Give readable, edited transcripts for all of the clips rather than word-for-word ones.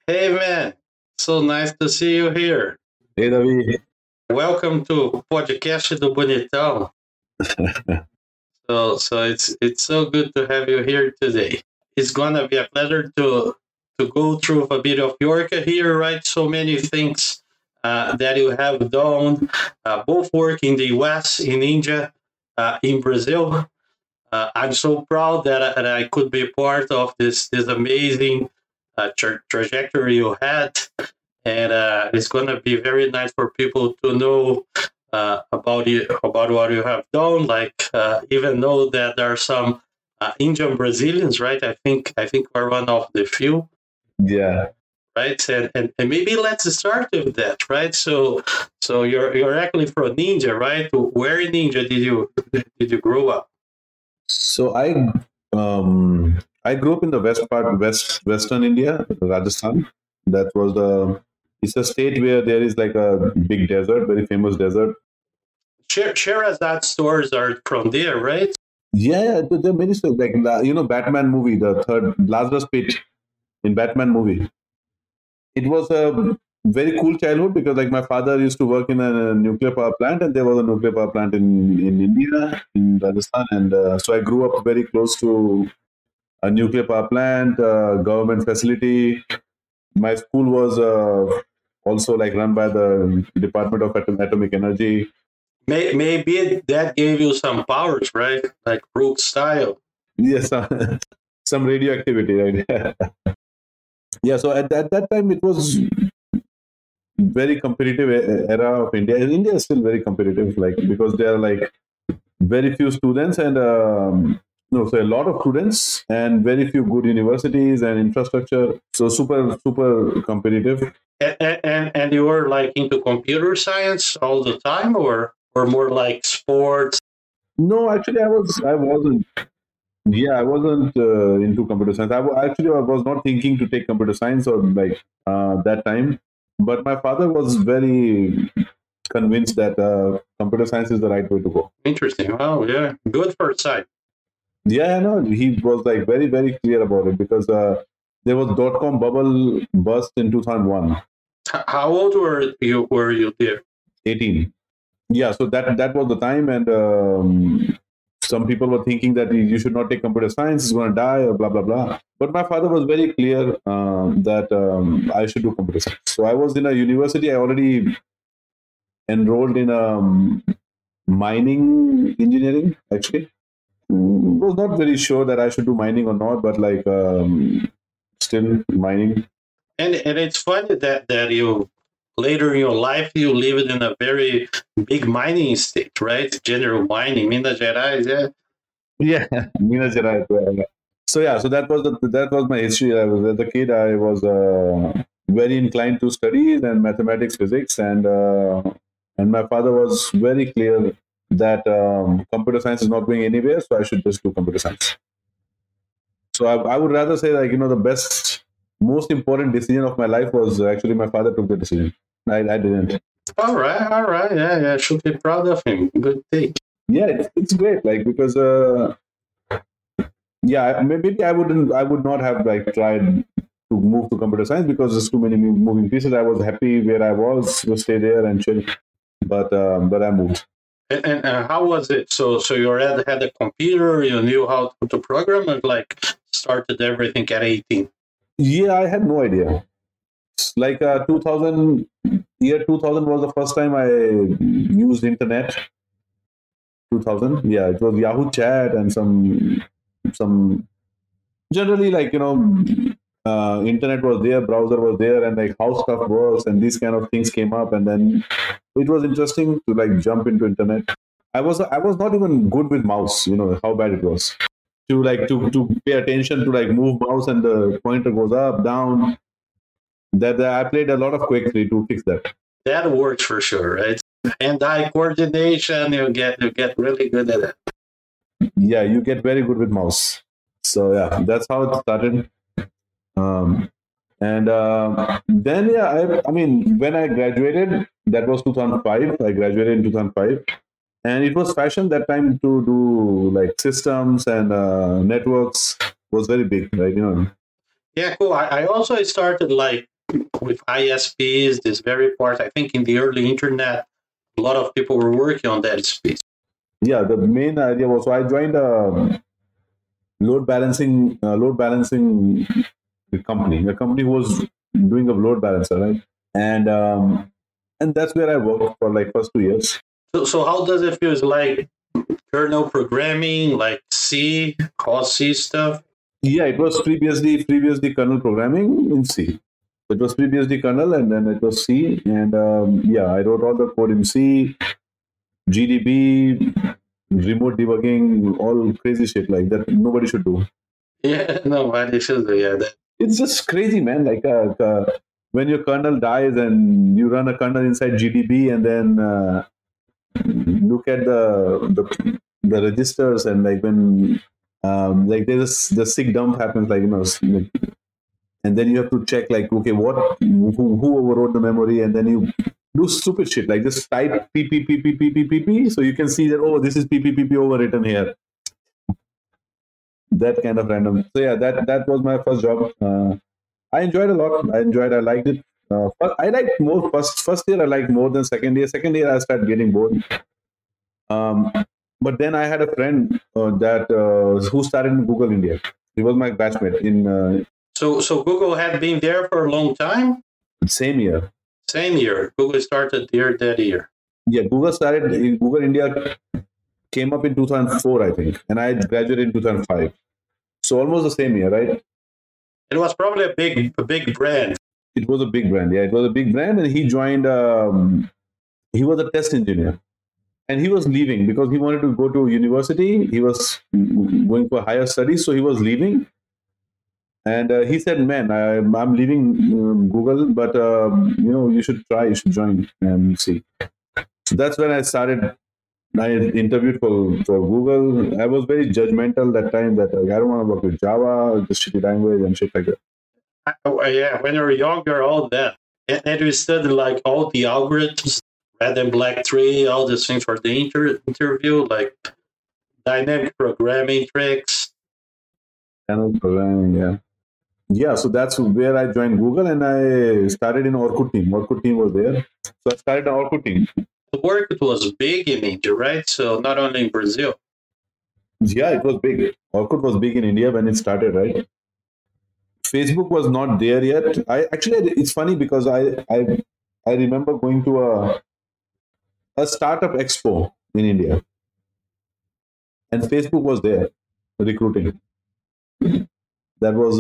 Hey man, so nice to see you here. Hey Ravi. Welcome to Podcast do Bonitão. So it's so good to have you here today. It's gonna be a pleasure to go through a bit of your career, right? So many things that you have done, both work in the US, in India, in Brazil. I'm so proud that I could be part of this amazing trajectory you had, and it's going to be very nice for people to know about you, about what you have done. Like even know that there are some Indian Brazilians, right? I think we're one of the few, Yeah. right? And maybe let's start with that, right? So you're actually from India, right? Where in India did you grow up? So I grew up in the western India, Rajasthan. That was the it's a state where there is like a big desert, very famous desert. Sherazade stores are from there, right? Yeah, there are many stuff like Batman movie, the third Lazarus Pit in Batman movie. It was a very cool childhood because like my father used to work in a nuclear power plant, and there was a nuclear power plant in India, in Rajasthan, and so I grew up very close to a nuclear power plant, government facility. My school was also like run by the Department of Atomic Energy. Maybe that gave you some powers, right? Like Brooke style. Yes, some radioactivity, right? Yeah, so at that time it was very competitive era of India. India is still very competitive, like because there are like very few students and no, so a lot of students and very few good universities and infrastructure. So super competitive. And you were like into computer science all the time, or more like sports? No, actually, I wasn't. Yeah, I wasn't into computer science. Actually, I was not thinking to take computer science or like that time. But my father was very convinced that computer science is the right way to go. Interesting. Oh yeah, good for sight. Yeah, no, he was like very clear about it because there was .com bubble burst in 2001, How old were you there? 18. Yeah, so that was the time, and some people were thinking that you should not take computer science, it's going to die, or blah blah blah. But my father was very clear that I should do computer science. So I was in a university. I already enrolled in mining engineering. Actually, was not very sure that I should do mining or not, but like still mining. And it's funny that you later in your life you lived in a very big mining state, right? General Mining, Minas Gerais. Yeah. Yeah, Minas Gerais. Yeah. So yeah, so that was my history. I was as a kid. I was very inclined to studies and mathematics, physics, and my father was very clear that computer science is not going anywhere, so I should just do computer science. So I would rather say like the best, most important decision of my life was actually my father took the decision. I didn't. All right. Yeah, yeah. Should be proud of him. Good thing. Yeah, it's great. Like because yeah, maybe I would not have like tried to move to computer science because there's too many moving pieces. I was happy where I was to stay there and chill, but I moved. And how was it? So you already had a computer, you knew how to program, and like started everything at 18. Yeah, I had no idea. Like 2000 year 2000 was the first time I used internet. 2000, yeah, it was Yahoo Chat and some generally like internet was there, browser was there, and like how stuff works and these kind of things came up, and then it was interesting to like jump into internet. I was not even good with mouse, how bad it was to like to pay attention to like move mouse and the pointer goes up down. That I played a lot of Quake 3 to fix that. That works for sure, right? Hand-eye coordination, you get really good at it. Yeah, you get very good with mouse. So yeah, that's how it started. Um, and then yeah, I mean, when I graduated, that was 2005. I graduated in 2005, and it was fashion that time to do like systems and networks was very big, right? Yeah, cool. I also started like with ISPs, this very part. I think in the early internet, a lot of people were working on that space. Yeah, the main idea was, so I joined a load balancing company. The company was doing a load balancer, right? And that's where I worked for like first 2 years. So how does it feel? Is like kernel programming, like C, all C stuff? Yeah, it was FreeBSD kernel programming in C. It was FreeBSD kernel, and then it was C. And yeah, I wrote all the code in C, GDB, remote debugging, all crazy shit like that. Nobody should do. Yeah, nobody should do. Yeah, It's just crazy, man. Like when your kernel dies and you run a kernel inside GDB, and then look at the registers, and like when like there's the sick dump happens, like and then you have to check like, okay, who overrode the memory, and then you do stupid shit like just type p, so you can see that, oh, this is p overwritten here. That kind of random. So yeah, that was my first job. I enjoyed a lot. I liked it. I liked more first year. I liked more than second year. Second year, I started getting bored. But then I had a friend who started in Google India. He was my batchmate in. So Google had been there for a long time. Same year. Same year. Google started that year. Yeah, Google India came up in 2004, I think, and I graduated in 2005. So almost the same year, right? It was probably a big brand. It was a big brand. Yeah, it was a big brand, and he joined. He was a test engineer, and he was leaving because he wanted to go to university. He was going for higher studies, so he was leaving. And he said, "Man, I'm leaving Google, but you should try. You should join and see." So that's when I started. I interviewed for Google. I was very judgmental that time that I don't want to work with Java, the shitty language and shit like that. Yeah, when you're young, you're all that. And you studied like all the algorithms, red and black tree, all these things for the interview, like dynamic programming tricks. Dynamic programming, yeah. Yeah, so that's where I joined Google, and I started in Orkut team. Orkut team was there. So I started an Orkut team. The work was big in India, right? So not only in Brazil. Yeah, it was big. Orkut was big in India when it started, right? Facebook was not there yet. It's funny because I remember going to a startup expo in India, and Facebook was there recruiting. That was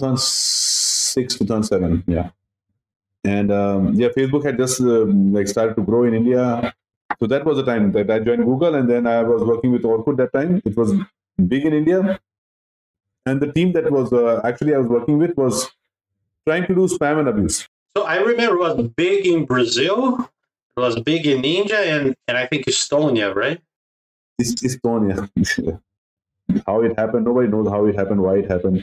2006, 2007, yeah. And Facebook had just started to grow in India. So that was the time that I joined Google, and then I was working with Orkut that time. It was big in India. And the team that was I was working with was trying to do spam and abuse. So I remember it was big in Brazil, it was big in India, and I think Estonia, right? Estonia. How it happened, nobody knows how it happened, why it happened.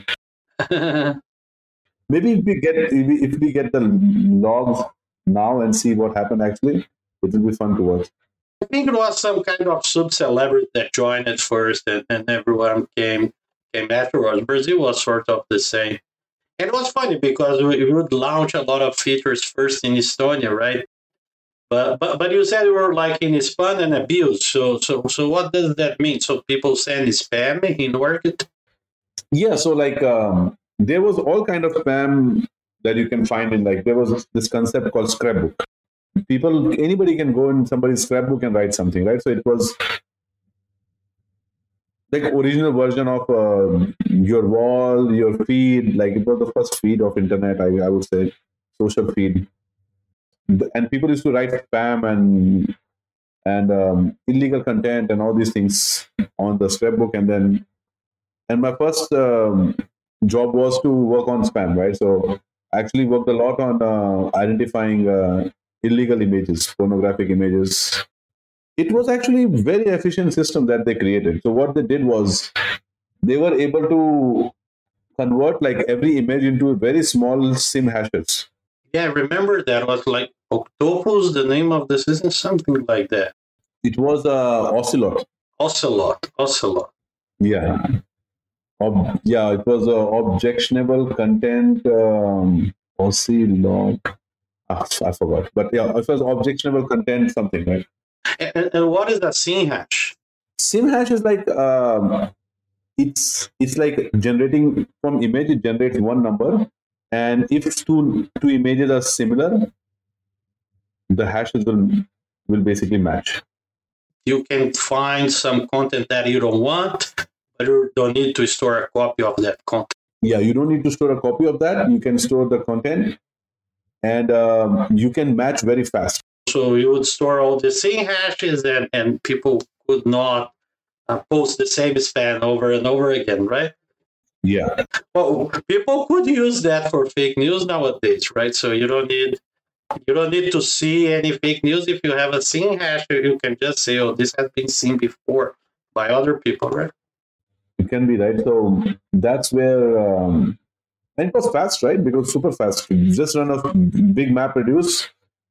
Maybe if we get the logs now and see what happened actually, it will be fun to watch. I think it was some kind of sub-celebrity that joined it first, and everyone came afterwards. Brazil was sort of the same. And it was funny because we would launch a lot of features first in Estonia, right? But you said we were like in spam and abuse. So what does that mean? So people send spam in Orkut? Yeah, so like there was all kind of spam that you can find in, like, there was this concept called scrapbook. Anybody can go in somebody's scrapbook and write something, right? So it was like original version of your wall, your feed. Like it was the first feed of internet, I would say, social feed. And people used to write spam and illegal content and all these things on the scrapbook. And my first job was to work on spam, right? So I actually worked a lot on identifying illegal images, pornographic images. It was actually a very efficient system that they created. So what they did was they were able to convert like every image into very small SIM hashes. Yeah, I remember that was like Octopus, the name of the system, something like that. It was Ocelot. Ocelot. Yeah. It was objectionable content OC log. I forgot. But yeah, it was objectionable content something, right? And what is a scene hash? Sim hash is like it's like generating from image. It generates one number, and if two images are similar, the hashes will basically match. You can find some content that you don't want, but you don't need to store a copy of that content. Yeah, you don't need to store a copy of that. You can store the content, and you can match very fast. So you would store all the same hashes, and people could not post the same span over and over again, right? Yeah. Well, people could use that for fake news nowadays, right? So you don't need to see any fake news. If you have a scene hash, you can just say, "Oh, this has been seen before by other people," right? It can be, right. So that's where and it was fast, right? Because super fast. You just run a big map reduce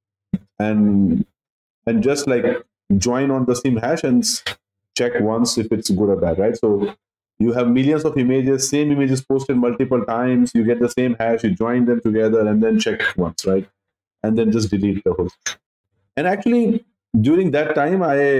and just like join on the same hash and check once if it's good or bad, right? So you have millions of images, same images posted multiple times. You get the same hash, you join them together, and then check once, right? And then just delete the whole. And actually, during that time,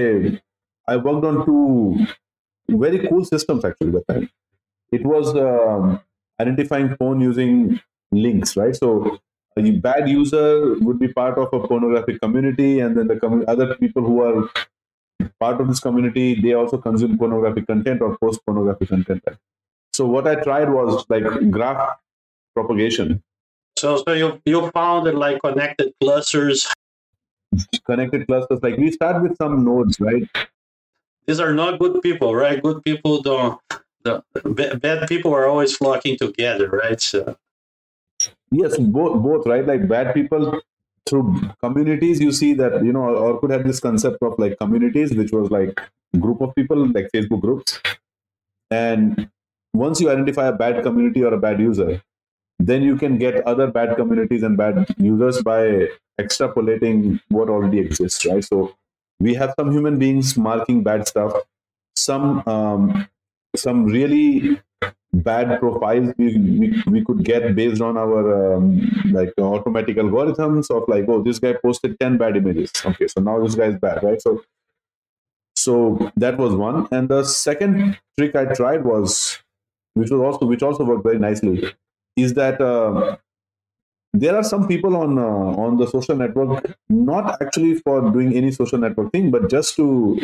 I worked on two very cool systems. Actually, that time it was identifying porn using links, right? So a bad user would be part of a pornographic community, and then the other people who are part of this community, they also consume pornographic content or post pornographic content. Right? So what I tried was like graph propagation. So you found like connected clusters. Connected clusters, like we start with some nodes, right? These are not good people, right? Good people don't. Bad people are always flocking together, right? So yes, both, right? Like bad people through communities. You see that Orkut had this concept of like communities, which was like group of people, like Facebook groups. And once you identify a bad community or a bad user, then you can get other bad communities and bad users by extrapolating what already exists, right? So we have some human beings marking bad stuff, some really bad profiles we could get based on our like automatic algorithms of like, oh, this guy posted 10 bad images, okay, so now this guy is bad, right? So that was one. And the second trick I tried was, which also worked very nicely, is that there are some people on the social network, not actually for doing any social network thing, but just to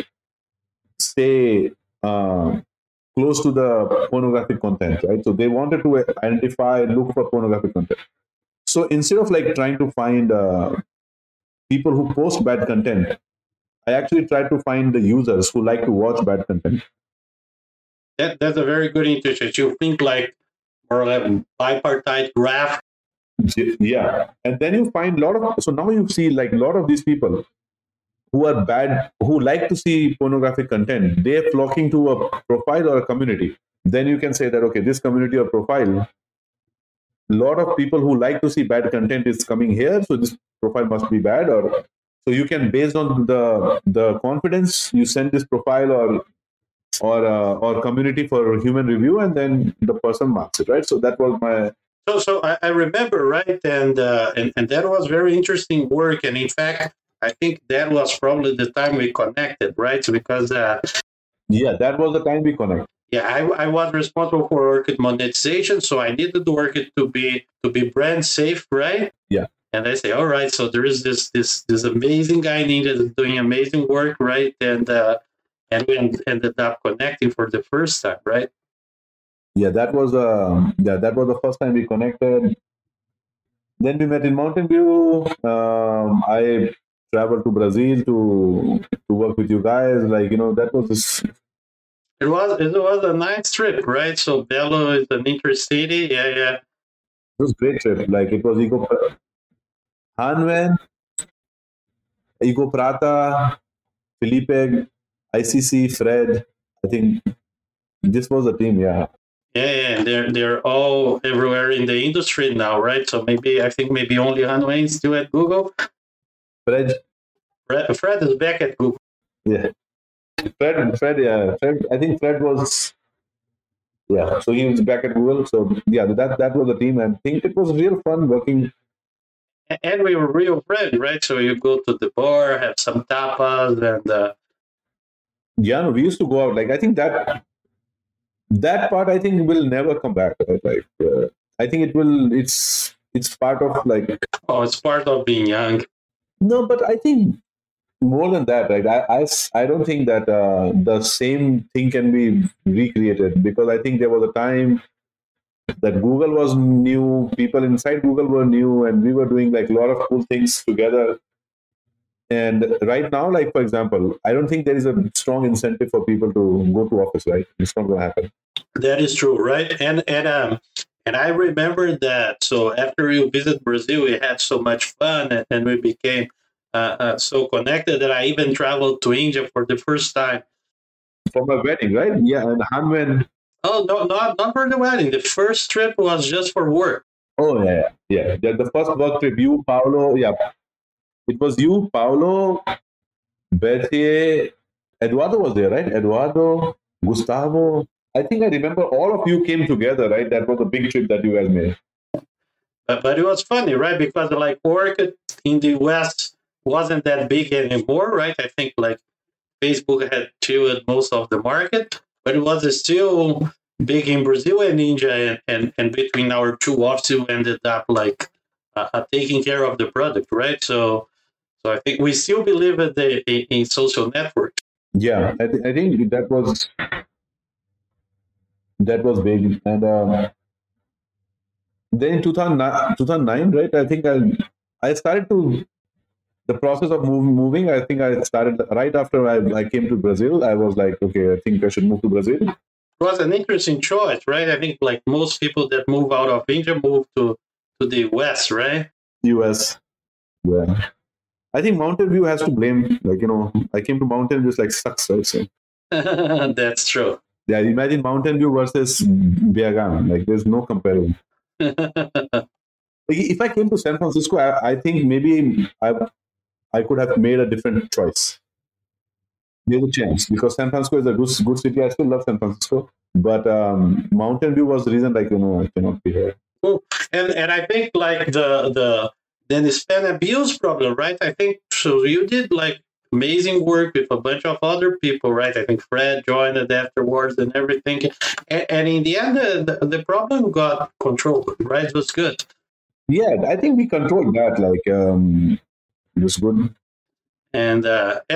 stay close to the pornographic content, right? So they wanted to identify, look for pornographic content. So instead of like trying to find people who post bad content, I actually tried to find the users who like to watch bad content. that's a very good intuition. You think like more like a bipartite graph. Yeah, and then you find a lot of. So now you see like a lot of these people who are bad, who like to see pornographic content. They're flocking to a profile or a community. Then you can say that, okay, this community or profile, a lot of people who like to see bad content is coming here, so this profile must be bad. Or so you can, based on the confidence, you send this profile or community for human review, and then the person marks it, right? So that was my. So I remember, right, and that was very interesting work. And in fact, I think that was probably the time we connected, right? Because yeah, that was the time we connect. Yeah, I was responsible for Orkut monetization, so I needed Orkut to be brand safe, right? Yeah. And I say, all right, so there is this amazing guy needed doing amazing work, right? And we ended up connecting for the first time, right? Yeah, that was the first time we connected. Then we met in Mountain View. I traveled to Brazil to work with you guys. Like, that was this. It was a nice trip, right? So Belo is an intercity. Yeah. It was a great trip. Like, it was Hanwen, Ego Prata, Felipe, ICC, Fred. I think this was the team, yeah. Yeah, they're all everywhere in the industry now, right? So I think maybe only Hanway is still at Google. Fred is back at Google. Yeah. Fred, yeah. I think Fred was Yeah, so he was back at Google. So yeah, that was the team, and I think it was real fun working. And we were real friends, right? So you go to the bar, have some tapas, and Yeah, no, we used to go out. Like I think that part I think will never come back. Right? Like I think it will. It's part of like it's part of being young. no, but I think more than that, right? I don't think that the same thing can be recreated because I think there was a time that Google was new, people inside Google were new, and we were doing like a lot of cool things together. And right now, like for example, I don't think there is a strong incentive for people to go to office, right? It's not going to happen. That is true, right? And I remember that. So after you visit Brazil, we had so much fun, and we became so connected that I even traveled to India for the first time. For my wedding, right? Yeah, and Hanwen. Oh no, not for the wedding. The first trip was just for work. Oh yeah. The first work trip, you, Paolo. Yeah, it was you, Paolo, Berthier, Eduardo was there, right? Eduardo, Gustavo. I think I remember all of you came together, right? That was a big trip that you guys made. But it was funny, right? Because like work in the West wasn't that big anymore, right? I think like Facebook had chewed most of the market, but it was still big in Brazil and India, and between our two offices, we ended up like taking care of the product, right? So I think we still believe in social networks. Yeah, I think that was big, and then in 2009, right? I think I started to the process of moving. I think I started right after I came to Brazil. I was like, okay, I think I should move to Brazil. It was an interesting choice, right? I think like most people that move out of India move to the West, right? US. Yeah. I think Mountain View has to blame. Like, I came to Mountain View, it's like sucks, right? So, that's true. Yeah, imagine Mountain View versus Biagan. Like, there's no comparison. If I came to San Francisco, I think maybe I could have made a different choice. There's a chance because San Francisco is a good city. I still love San Francisco, but Mountain View was the reason, like, I cannot be here. Cool. And I think like the Hispanic abuse problem, right? I think so. You did like amazing work with a bunch of other people, right? I think Fred joined it afterwards and everything. And in the end, the problem got controlled, right? It was good. Yeah, I think we controlled that. Like, it was good. And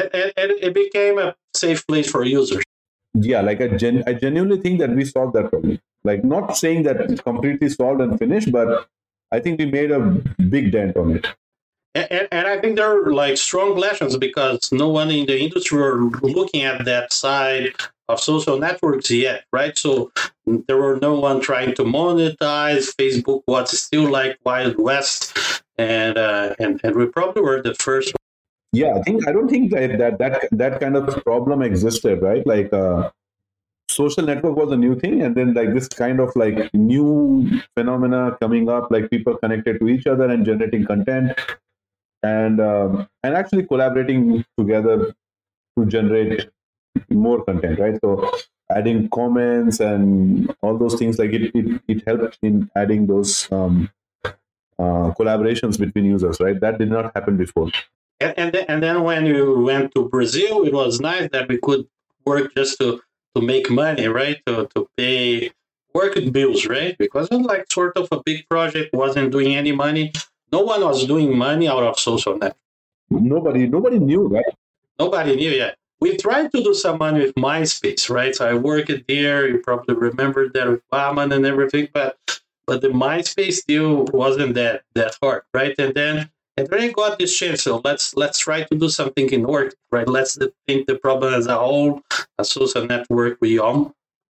it became a safe place for users. Yeah, like I genuinely think that we solved that problem. Like, not saying that it's completely solved and finished, but I think we made a big dent on it. And I think there are like strong lessons because no one in the industry were looking at that side of social networks yet, right? So there were no one trying to monetize. Facebook was still like Wild West, and we probably were the first. Yeah, I don't think that kind of problem existed, right? Like social network was a new thing, and then like this kind of like new phenomena coming up, like people connected to each other and generating content, and actually collaborating together to generate more content, right? So adding comments and all those things, like it helped in adding those collaborations between users, right? That did not happen before. And then when you went to Brazil, it was nice that we could work just to make money, right? To pay work bills, right? Because it was like sort of a big project, wasn't doing any money. No one was doing money out of social network. Nobody knew, right? Nobody knew yet. We tried to do some money with MySpace, right? So I worked there. You probably remember that with Bahman and everything, but the MySpace deal wasn't that hard, right? And then I got this chance, so let's try to do something in work, right? Let's think the problem as a whole, a social network we own.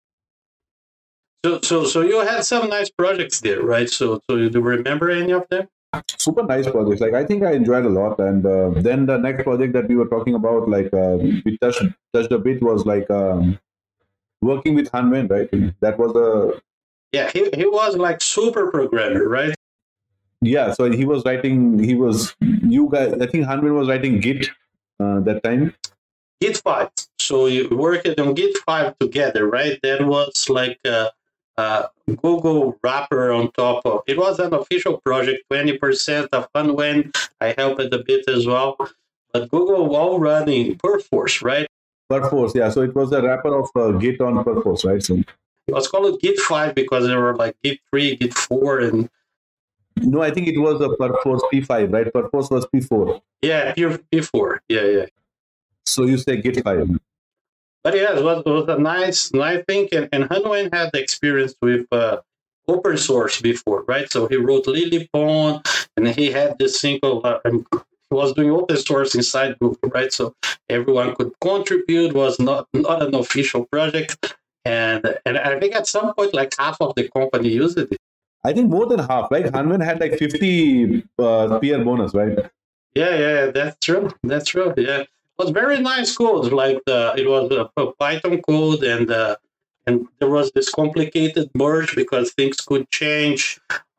So you had some nice projects there, right? So do you remember any of them? Super nice projects. Like I think I enjoyed a lot, and then the next project that we were talking about, like we touched a bit, was like working with Hanwen, right? That was he was like super programmer, right? Yeah, so he was writing. You guys. I think Hanwen was writing Git that time. Git 5. So you worked on Git 5 together, right? That was like Google wrapper on top of it. Was an official project, 20% of Hunwen. I helped a bit as well. But Google all running Perforce, right? Perforce, yeah. So it was a wrapper of Git on Perforce, right? So it was called Git 5 because there were like Git 3, Git 4, and no, I think it was a Perforce P5, right? Perforce was P4. Yeah, P4. Yeah. So you say Git 5. But yeah, it was a nice thing. And Hunwen had experience with open source before, right? So he wrote LilyPond, and he had this single, and he was doing open source inside Google, right? So everyone could contribute. Was not an official project, and I think at some point like half of the company used it. I think more than half, right? Hunwen had like 50 peer bonus, right? Yeah, that's true. Yeah, it was very nice code. Like it was a Python code, and there was this complicated merge because things could change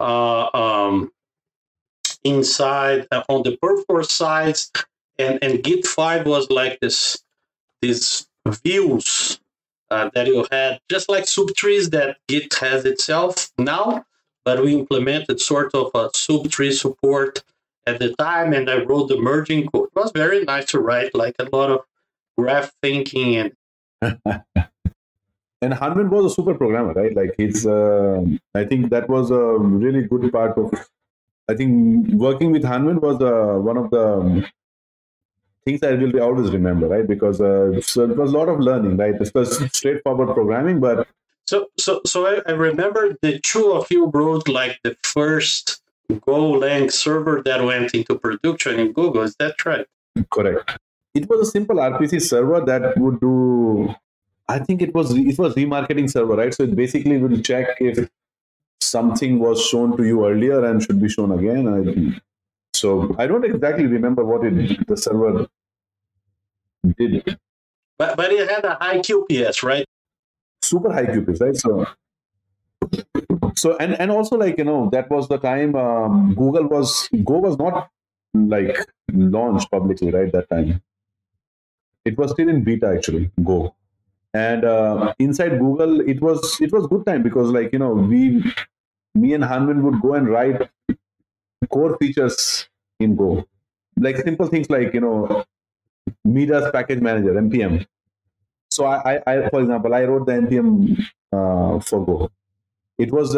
inside on the Perforce sides, and Git 5 was like these views that you had, just like subtrees that Git has itself now, but we implemented sort of a subtree support at the time, and I wrote the merging code. It was very nice to write, like a lot of graph thinking. And and Hunwen was a super programmer, right? Like he's, I think that was a really good part of, I think working with Hunwen was one of the things I will always remember, right? Because so it was a lot of learning, right? It was straightforward programming, but so I remember the two of you wrote like the first Golang server that went into production in Google. Is that right? Correct. It was a simple RPC server that would do, I think it was remarketing server, right? So it basically will check if something was shown to you earlier and should be shown again. So I don't exactly remember what the server did. But it had a high QPS, right? Super high QPS, right? So and also, like, that was the time Go was not like launched publicly, right? That time it was still in beta, actually, Go. And inside Google, it was good time because, like, me and Hunwen would go and write core features in Go, like simple things like Midas package manager, npm. So I for example, I wrote the npm for Go. It was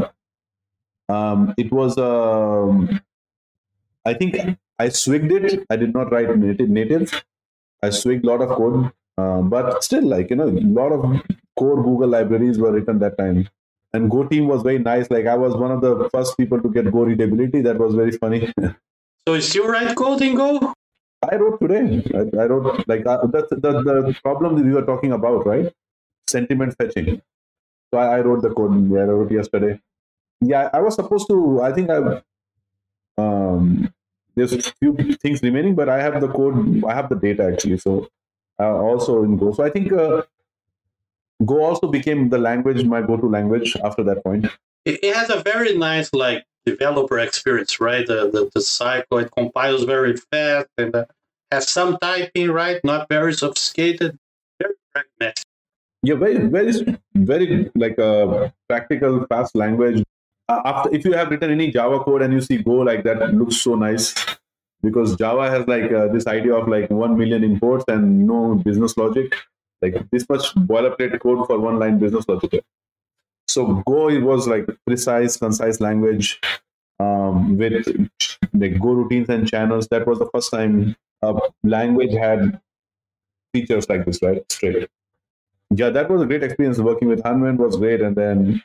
I think I swigged it. I did not write native. I swigged a lot of code, but still, like, a lot of core Google libraries were written that time. And Go team was very nice. Like, I was one of the first people to get Go readability. That was very funny. So you still write code in Go? I wrote today. I wrote, like, that's the problem that we were talking about, right? Sentiment fetching. So I wrote the code. Yeah, I wrote yesterday. Yeah, I was supposed to. I think there's a few things remaining, but I have the code. I have the data, actually. So also in Go. So I think Go also became the language, my go-to language after that point. It has a very nice, like, developer experience, right? The cycle, it compiles very fast and has some typing, right? Not very sophisticated, very pragmatic. Yeah, very like a practical, fast language. After, if you have written any Java code and you see Go, like, that, it looks so nice, because Java has like this idea of like 1 million imports and no business logic, like this much boilerplate code for one line business logic. So Go, it was like precise, concise language with like Go routines and channels. That was the first time a language had features like this, right? Straight. Yeah, that was a great experience. Working with Hunwen was great, and then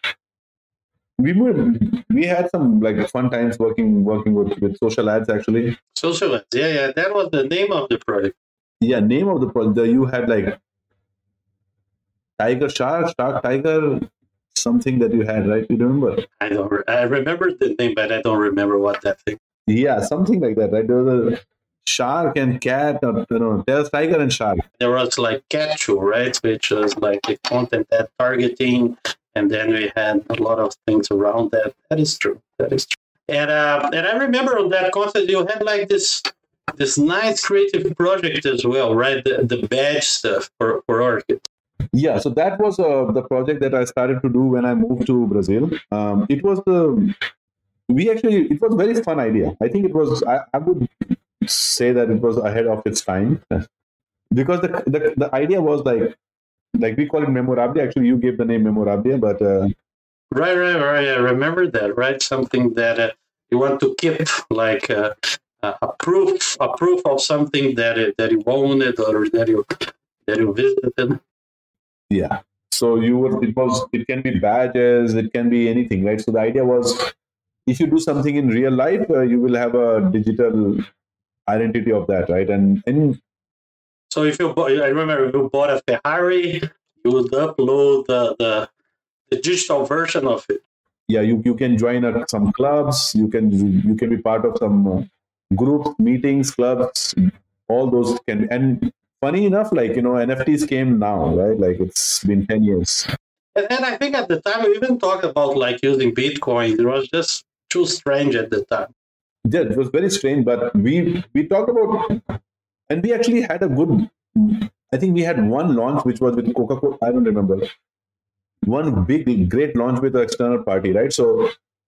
we had some like fun times working with social ads, actually. Social ads, yeah. That was the name of the project. Yeah, name of the project. You had like Tiger Shark Tiger, something that you had, right? You remember? I remember the name, but I don't remember what that thing. Yeah, something like that, right? There was a shark and cat, or there's tiger and shark. There was like Catchu, right, which was like a content ad targeting, and then we had a lot of things around that. That is true. And I remember on that content you had like this nice creative project as well, right? The badge stuff for Orchid. Yeah, so that was the project that I started to do when I moved to Brazil. It was it was a very fun idea. I think it was, I would say that it was ahead of its time because the idea was like we call it Memorabilia. Actually, you gave the name Memorabilia, but Right. I remember that. Right, something that you want to keep, like a proof of something that you owned or that you visited. yeah. So it can be badges, it can be anything, right? So the idea was, if you do something in real life, you will have a digital identity of that, right? And So if you bought, I remember if you bought a Ferrari, you would upload the digital version of it. yeah, you can join some clubs, you can be part of some groups, meetings, clubs, all those can. And funny enough, like, NFTs came now, right? Like, it's been 10 years. And I think at the time we even talked about like using Bitcoin. It was just too strange at the time. Yeah, it was very strange, but we talked about, and we actually had a good, I think we had one launch which was with Coca-Cola. I don't remember, one big great launch with an external party, right? So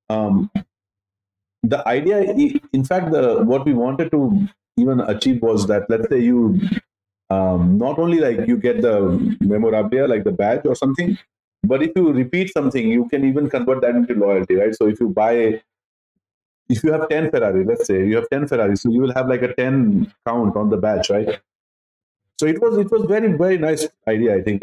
the idea, in fact, the what we wanted to even achieve was that, let's say you not only like you get the memorabilia, like the badge or something, but if you repeat something, you can even convert that into loyalty, right? So if you have 10 Ferrari, let's say you have 10 Ferrari, so you will have like a 10 count on the badge, right? So it was very, very nice idea, I think.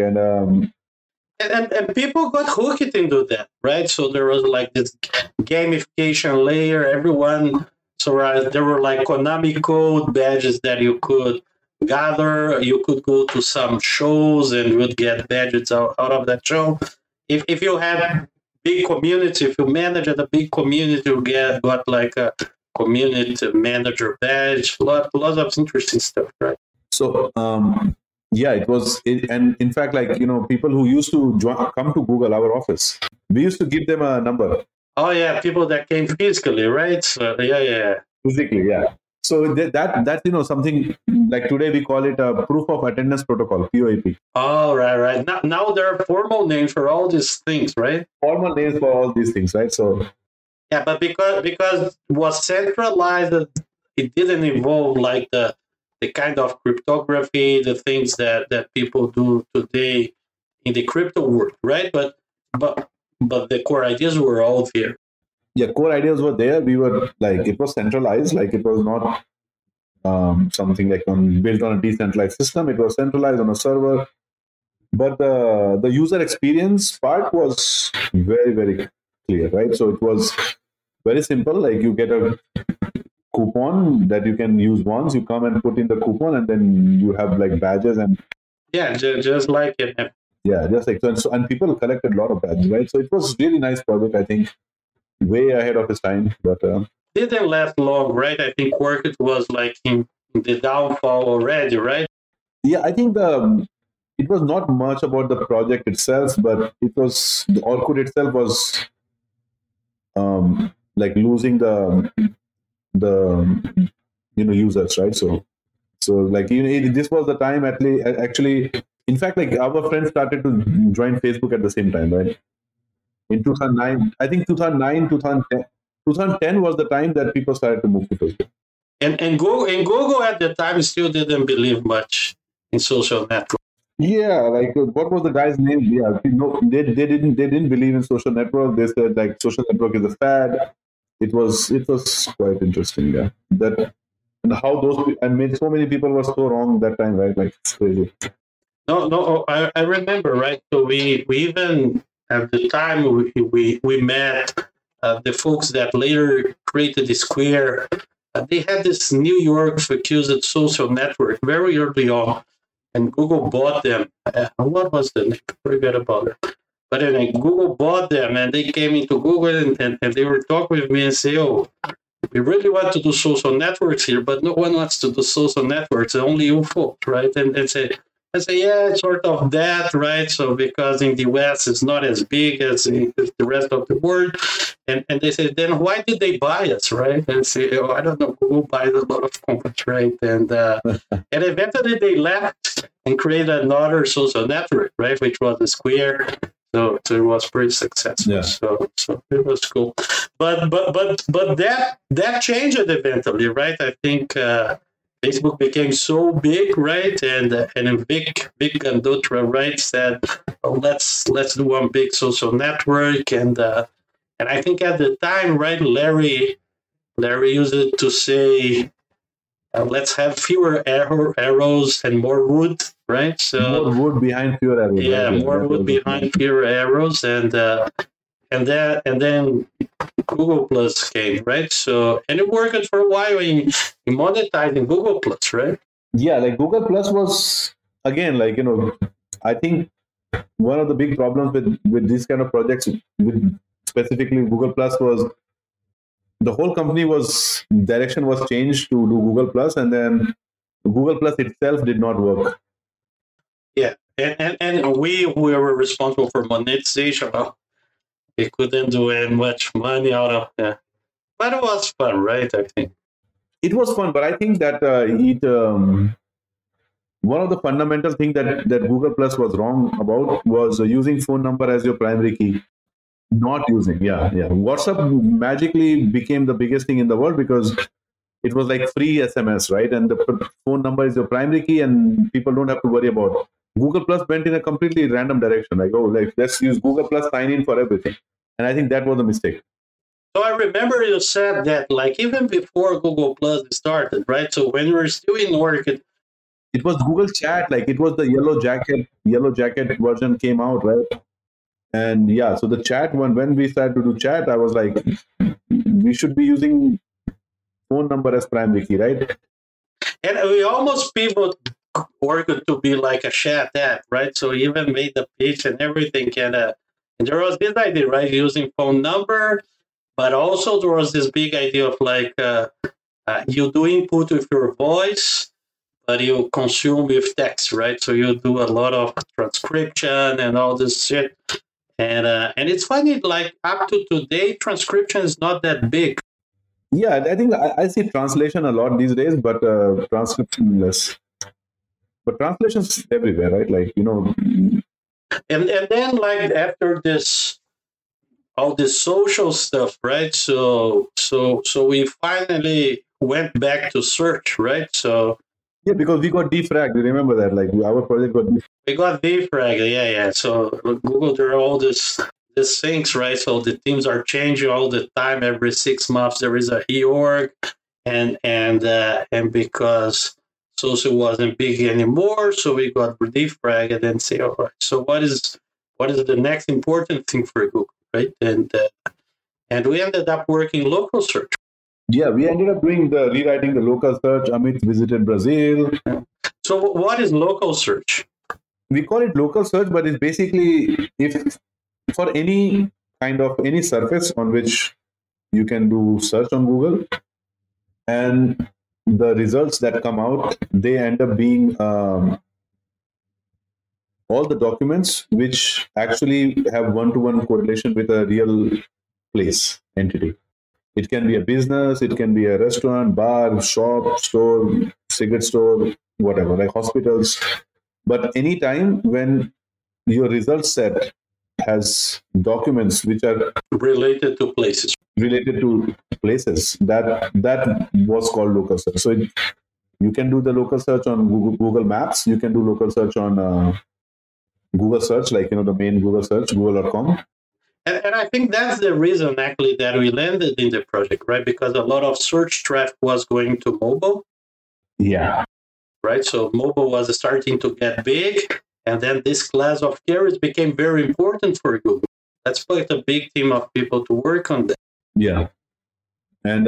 And people got hooked into that, right? So there was like this gamification layer. Everyone, so there were like Konami code badges that you could gather. You could go to some shows and you would get badges out of that show. If you had big community, if you managed a big community, you got like a community manager badge. Lots of interesting stuff, right? So yeah, and in fact, like, people who used to come to Google, our office, we used to give them a number. Oh yeah, people that came physically, right? So, yeah. Physically, yeah. So that's something like today we call it a proof of attendance protocol, POAP. Oh, right. Now there are formal names for all these things, right? Formal names for all these things, right? So yeah, but because it was centralized, it didn't involve like the kind of cryptography, the things that people do today in the crypto world, right? But the core ideas were all there. Yeah, core ideas were there. We were like, it was centralized, like it was not something like built on a decentralized system. It was centralized on a server. But the user experience part was very, very clear, right? So it was very simple. Like, you get a coupon that you can use once. You come and put in the coupon, and then you have like badges and yeah, just like it. Yeah, just like so, and people collected a lot of badges, right? So it was really nice project. I think way ahead of its time, but didn't last long, right? I think Orkut was like in the downfall already, right? Yeah, I think it was not much about the project itself, but it was the Orkut itself was like losing the users, right? So like, this was the time actually. In fact, like, our friends started to join Facebook at the same time, right? In 2009, I think 2009, 2010 was the time that people started to move to Facebook. And Google at the time still didn't believe much in social network. Yeah, like, what was the guy's name? Yeah, they didn't believe in social network. They said like social network is a fad. It was quite interesting. Yeah, that, and how so many people were so wrong that time, right? Like, it's crazy. No, I remember, right? So we even at the time we met the folks that later created the Square. They had this New York focused social network very early on, and Google bought them. What was the name? Forget about it. But anyway, Google bought them, and they came into Google, and they were talking with me and say, "Oh, we really want to do social networks here, but no one wants to do social networks. Only you folks, right?" And they say, I say, yeah, it's sort of that, right? So because in the US it's not as big as the rest of the world. And they say, then why did they buy us, right? And say, oh, I don't know, Google buys a lot of companies, right? And eventually they left and created another social network, right? Which was the Square. So it was pretty successful. Yeah. So it was cool. But that changed eventually, right? I think Facebook became so big, right? And Vic Gandutra, right, said, oh, let's do one big social network. And I think at the time, right, Larry used it to say, let's have fewer arrows and more wood, right? So more wood behind fewer arrows. yeah, right? more wood behind fewer arrows, and then Google Plus came, right? So and it worked for a while in monetizing Google Plus, right? Yeah, like Google Plus was again, like, I think one of the big problems with these kind of projects, with specifically Google Plus, was the whole company direction was changed to do Google Plus, and then Google Plus itself did not work. Yeah, and we were responsible for monetization. We couldn't do much money out of that, but it was fun, right? I think it was fun, but I think that one of the fundamental things that Google Plus was wrong about was using phone number as your primary key. Not using, yeah. WhatsApp magically became the biggest thing in the world because it was like free SMS, right? And the phone number is your primary key, and people don't have to worry about it. Google Plus went in a completely random direction, like, oh, like, let's use Google Plus sign in for everything. And I think that was a mistake. So I remember you said that, like, even before Google Plus started, right? So when we were still in Orchid, it was Google Chat, like it was the yellow jacket version came out, right? And yeah, so the chat one, when we started to do chat, I was like, we should be using phone number as primary key, right? And we almost pivoted Orchid to be like a chat app, right? So we even made the pitch and everything. And there was this idea, right? Using phone number, but also there was this big idea of like you do input with your voice, but you consume with text, right? So you do a lot of transcription and all this shit. And it's funny, like up to today, transcription is not that big. Yeah, I think I see translation a lot these days, but transcription less. But translation's everywhere, right? Like, And then like after this, all this social stuff, right? So we finally went back to search, right? So yeah, because we got defragged. You remember that? Like our project got defragged. We got defragged, yeah. So Google, there are all these things, right? So the teams are changing all the time. Every 6 months there is a reorg, and because social wasn't big anymore, so we got defragged and then say, all right, so what is the next important thing for Google, right? And we ended up working local search. Yeah, we ended up rewriting the local search. Amit visited Brazil. So what is local search? We call it local search, but it's basically if for any kind of any surface on which you can do search on Google, and the results that come out, they end up being all the documents which actually have one-to-one correlation with a real place entity. It can be a business, it can be a restaurant, bar, shop, store, cigarette store, whatever, like hospitals. But anytime when your result set has documents which are related to places, that was called local search. So you can do the local search on Google Maps. You can do local search on Google Search, like the main Google search, google.com. And I think that's the reason actually that we landed in the project, right? Because a lot of search traffic was going to mobile. Yeah. Right. So mobile was starting to get big, and then this class of carriers became very important for Google. That's quite a big team of people to work on that. Yeah. And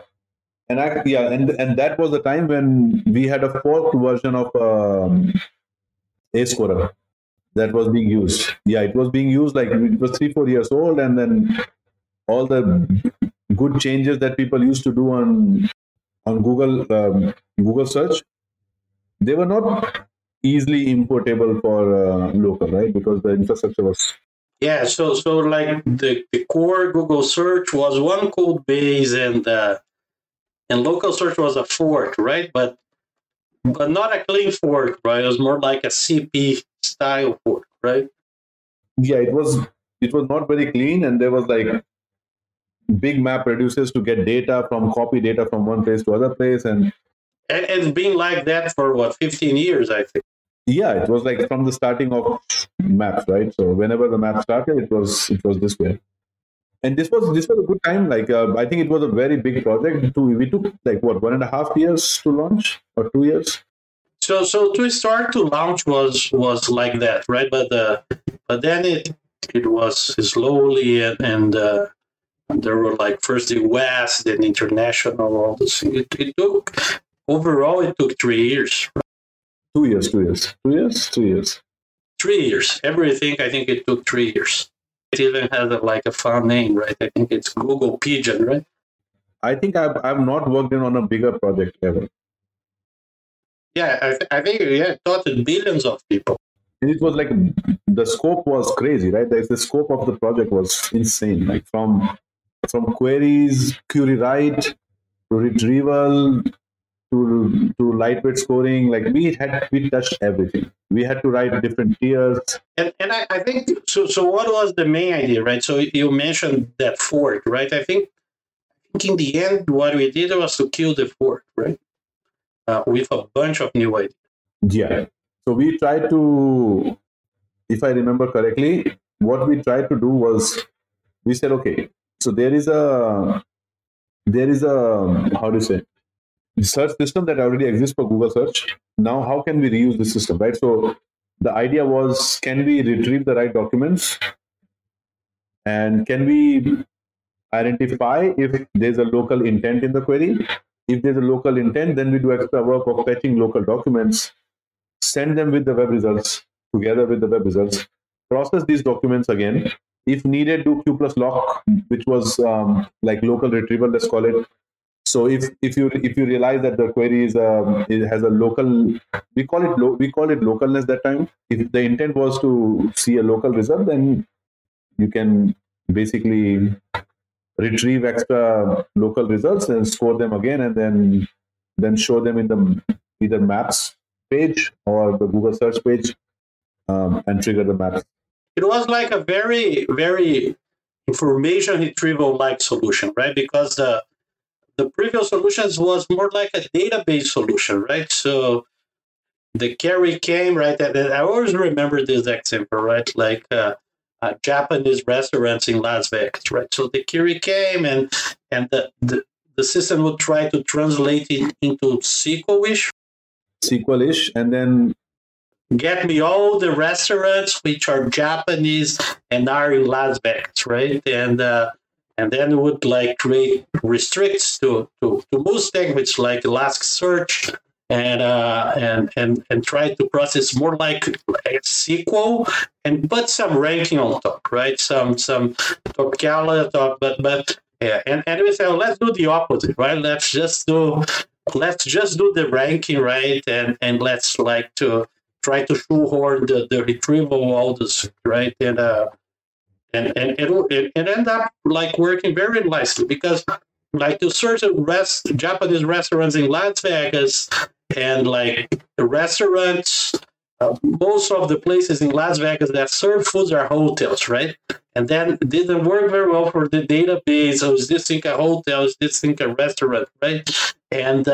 that was the time when we had a forked version of AceQuery that was being used. Yeah, it was being used, like it was 3-4 years old, and then all the good changes that people used to do on Google Search, they were not easily importable for local, right? Because the infrastructure was. Yeah, so like the core Google search was one code base, and local search was a fork, right? But not a clean fork, right? It was more like a CP style fork, right? Yeah, it was not very clean, and there was like big map reducers to get copy data from one place to other place, and it's been like that for what, 15 years, I think. Yeah, it was like from the starting of maps, right? So whenever the map started, it was this way. And this was a good time. Like I think it was a very big project. We took like what 1.5 years to launch, or 2 years. So to start to launch was like that, right? But then it was slowly, and there were like first the West, then international, all this. It took overall it took 3 years. 2 years, 2 years, 2 years, 3 years. 3 years. Everything, I think it took 3 years. It even has a fun name, right? I think it's Google Pigeon, right? I think I've not worked on a bigger project ever. Yeah, I think it touched billions of people. And it was like the scope was crazy, right? The scope of the project was insane. Like from queries, query write, to retrieval, to lightweight scoring. Like we touched everything. We had to write different tiers. And I think so. So what was the main idea, right? So you mentioned that fork, right? I think in the end, what we did was to kill the fork, right? With a bunch of new ideas. Yeah. So we tried to, if I remember correctly, what we tried to do was we said, okay, so there is a how do you say, search system that already exists for Google search. Now, how can we reuse the system, right? So the idea was, can we retrieve the right documents, and can we identify if there's a local intent in the query? If there's a local intent, then we do extra work of fetching local documents, send them with the web results, together with the web results, process these documents again. If needed, do Q plus lock, which was like local retrieval, let's call it. So if you realize that the query it has a local, we call it localness that time. If the intent was to see a local result, then you can basically retrieve extra local results and score them again, and then show them in the either maps page or the Google search page, and trigger the maps. It was like a very, very information retrieval like solution, right? Because the previous solutions was more like a database solution, right? So the query came, right? And I always remember this example, right? Like Japanese restaurants in Las Vegas, right? So the query came, and the system would try to translate it into SQL-ish, and then get me all the restaurants which are Japanese and are in Las Vegas, right? And then it would like create restricts to most languages like Elasticsearch, and try to process more like SQL, and put some ranking on top, right? Some Topcala top, but yeah, and we say, let's do the opposite, right? Let's just do the ranking, right? And let's like to try to shoehorn the retrieval, all this, right? And it ended up like working very nicely, because like to search Japanese restaurants in Las Vegas, and like the restaurants, most of the places in Las Vegas that serve foods are hotels, right? And then it didn't work very well for the database. So is this thing a hotel? Is this thing a restaurant, right? And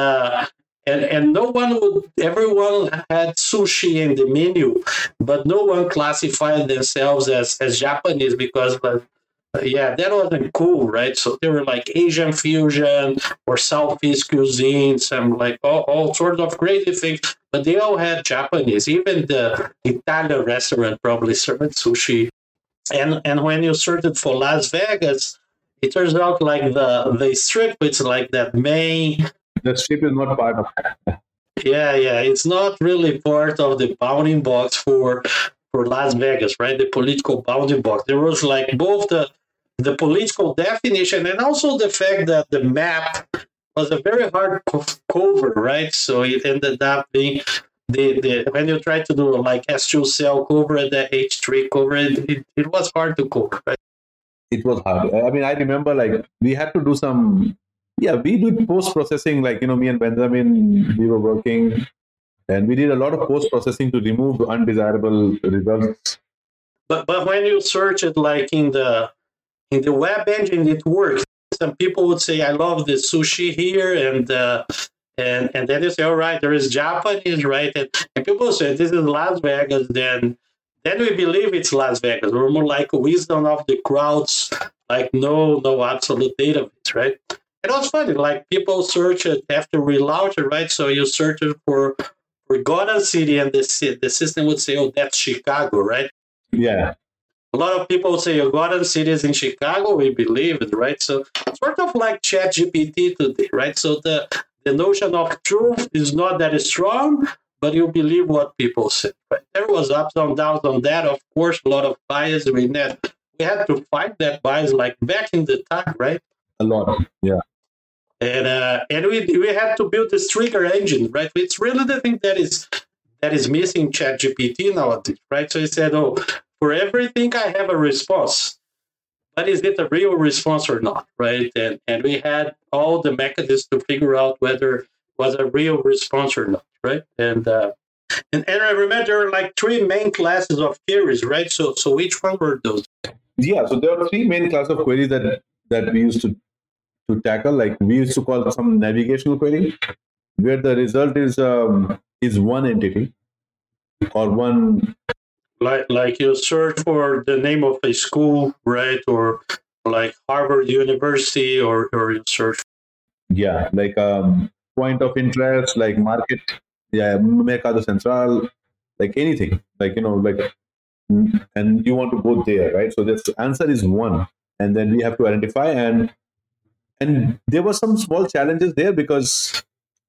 everyone had sushi in the menu, but no one classified themselves as Japanese, because that wasn't cool, right? So they were like Asian fusion or Southeast cuisine, some like all sorts of crazy things, but they all had Japanese. Even the Italian restaurant probably served sushi. And when you searched for Las Vegas, it turns out like the strip, it's like that main. The strip is not part of it. Yeah, it's not really part of the bounding box for Las Vegas, right? The political bounding box. There was like both the political definition, and also the fact that the map was a very hard cover, right? So it ended up being when you try to do like S2 cell cover, the H3 cover, it was hard to cover, right? It was hard. I mean, I remember like we had to do some. Yeah, we did post processing. Like me and Benjamin, we were working, and we did a lot of post processing to remove undesirable results. But when you search it like in the web engine, it works. Some people would say, "I love the sushi here," and then you say, "All right, there is Japanese, right?" And people say, "This is Las Vegas." Then we believe it's Las Vegas. We're more like wisdom of the crowds, like no absolute database, right? And it was funny, like people search it after relaunch it, right? So you search it for Gotham City, and the system would say, "Oh, that's Chicago," right? Yeah. A lot of people say Gotham City is in Chicago. We believe it, right? So sort of like ChatGPT today, right? So the notion of truth is not that strong, but you believe what people say, right? There was ups and downs on that. Of course, a lot of bias. We had to fight that bias like back in the time, right? A lot, yeah. And we had to build this trigger engine, right? It's really the thing that is missing ChatGPT nowadays, right? So he said, "Oh, for everything I have a response, but is it a real response or not?" Right? And we had all the mechanisms to figure out whether it was a real response or not, right? And I remember there were like three main classes of queries, right? So which one were those? Yeah, so there were three main classes of queries that we used to tackle. Like we used to call some navigational query, where the result is one entity or one. Like you search for the name of a school, right? Or like Harvard University, or you search. Yeah, like point of interest, like market, yeah, Mercado Central, like anything, like like, and you want to go there, right? So this answer is one, and then we have to identify, and there were some small challenges there because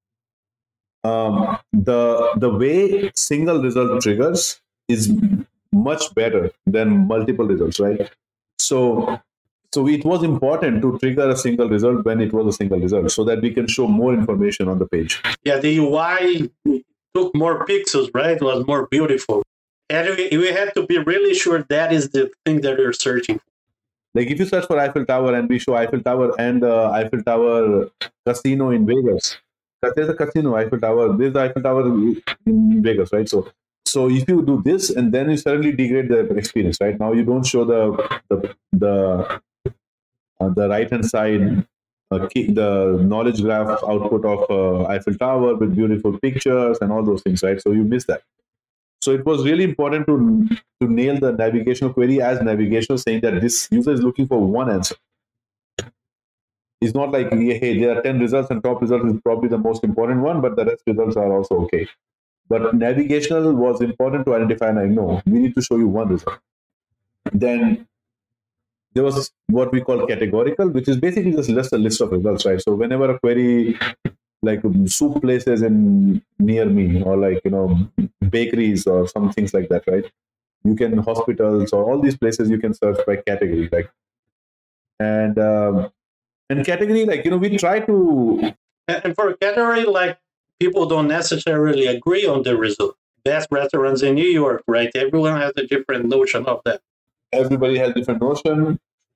the way single result triggers is much better than multiple results, right? So it was important to trigger a single result when it was a single result so that we can show more information on the page. Yeah, the UI took more pixels, right? It was more beautiful. And we had to be really sure that is the thing that we're searching for. Like if you search for Eiffel Tower and we show Eiffel Tower and the Eiffel Tower casino in Vegas, because there's a casino, Eiffel Tower, there's the Eiffel Tower in Vegas, right? So if you do this and then you suddenly degrade the experience, right? Now you don't show the right hand side the knowledge graph output of Eiffel Tower with beautiful pictures and all those things, right? So you miss that. So it was really important to nail the navigational query as navigational, saying that this user is looking for one answer. It's not like, hey, there are 10 results and top result is probably the most important one, but the rest results are also okay. But navigational was important to identify, like, no, we need to show you one result. Then there was what we call categorical, which is basically just a list of results, right? So whenever a query like soup places in near me, or like bakeries or some things like that, right? You can hospitals or all these places you can search by category, like and category, like we try to. And for a category, like people don't necessarily agree on the result. Best restaurants in New York, right? Everyone has a different notion of that. Everybody has different notion.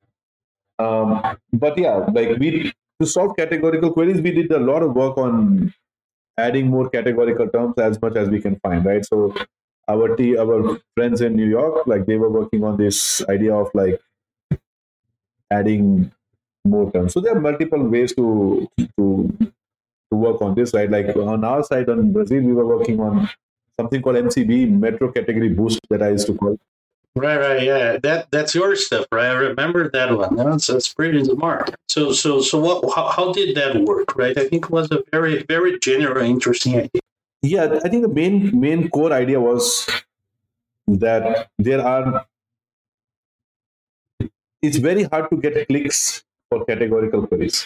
But yeah, like to solve categorical queries, we did a lot of work on adding more categorical terms as much as we can find, right? So our friends in New York, like they were working on this idea of like adding more terms. So there are multiple ways to work on this, right? Like on our side, on Brazil, we were working on something called MCB, Metro Category Boost, that I used to call. Right, yeah. That's your stuff, right? I remember that one. That's pretty smart. So how did that work, right? I think it was a very, very general, interesting idea. Yeah, I think the main core idea was that it's very hard to get clicks for categorical queries.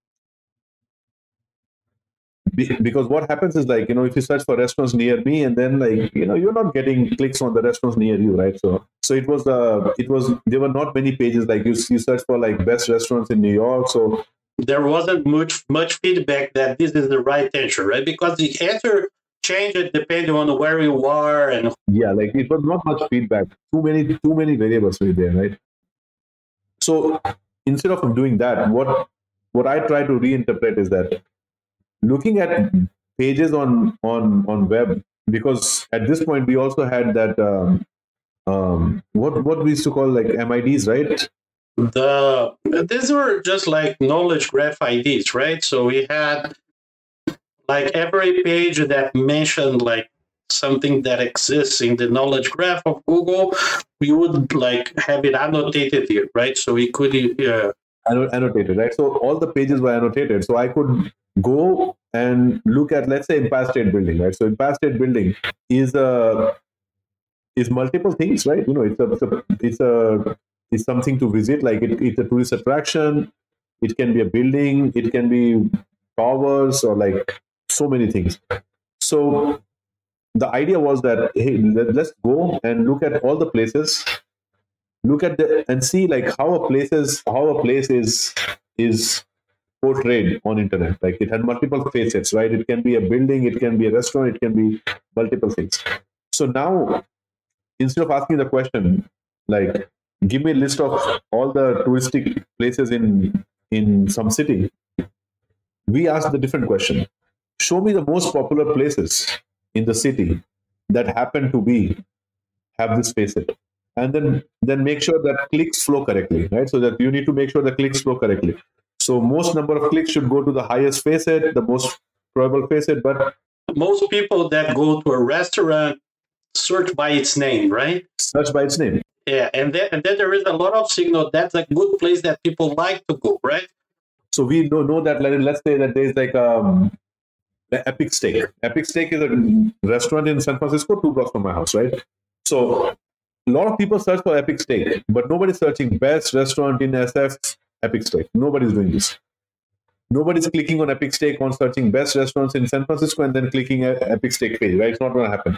Because what happens is, like, if you search for restaurants near me, and then, like, you're not getting clicks on the restaurants near you, right? So it was there were not many pages, like you search for like best restaurants in New York. So there wasn't much feedback that this is the right answer, right? Because the answer change it depending on where you are and Yeah, like it was not much feedback. Too many variables were there, right? So instead of doing that, what I try to reinterpret is that looking at pages on web, because at this point we also had that what we used to call like MIDs, right? these were just like knowledge graph IDs, right? So we had like every page that mentioned like something that exists in the knowledge graph of Google, we would like have it annotated here, right? So we could Annotated, right? So all the pages were annotated, so I could go and look at, let's say, Empire State Building, right? So Empire State Building is multiple things, right? It's something to visit, like it's a tourist attraction. It can be a building, it can be towers, or like so many things. So the idea was that, hey, let's go and look at all the places, look at and see like how a place is portrayed on internet. Like it had multiple facets, right? It can be a building, it can be a restaurant, it can be multiple things. So now, instead of asking the question like, give me a list of all the touristic places in some city, we ask the different question: show me the most popular places in the city that happen to be have this facet, and then make sure that clicks flow correctly, right? So that you need to make sure the clicks flow correctly. So most number of clicks should go to the highest facet, the most probable facet. But most people that go to a restaurant search by its name, right? search by its name. Yeah, and then there is a lot of signal that's a good place that people like to go, right? So we know that, let's say that there's like the Epic Steak. Epic Steak is a restaurant in San Francisco, 2 blocks from my house, right? So a lot of people search for Epic Steak, but nobody's searching best restaurant in SF Epic Steak. Nobody's doing this. Nobody's clicking on Epic Steak on searching best restaurants in San Francisco and then clicking Epic Steak page, right? It's not going to happen.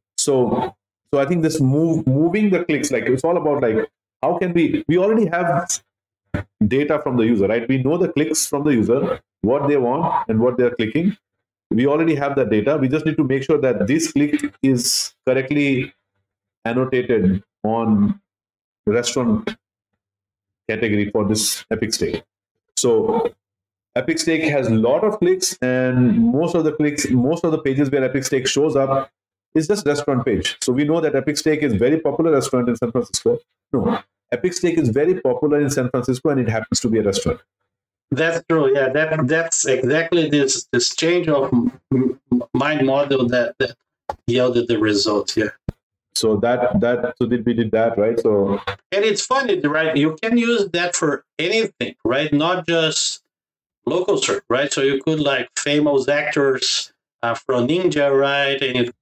So I think this moving the clicks, like it's all about like how can we already have data from the user, right? We know the clicks from the user, what they want and what they're clicking. We already have that data. We just need to make sure that this click is correctly annotated on restaurant category for this Epic Steak. So Epic Steak has a lot of clicks, and most of the pages where Epic Steak shows up is just restaurant page. So we know that Epic Steak is very popular restaurant in San Francisco. No, Epic Steak is very popular in San Francisco, and it happens to be a restaurant. That's true. Yeah, that's exactly this change of mind model that yielded the results. Yeah. So we did that, right? So, and it's funny, right? You can use that for anything, right? Not just local search, right? So you could like famous actors from Ninja, right? And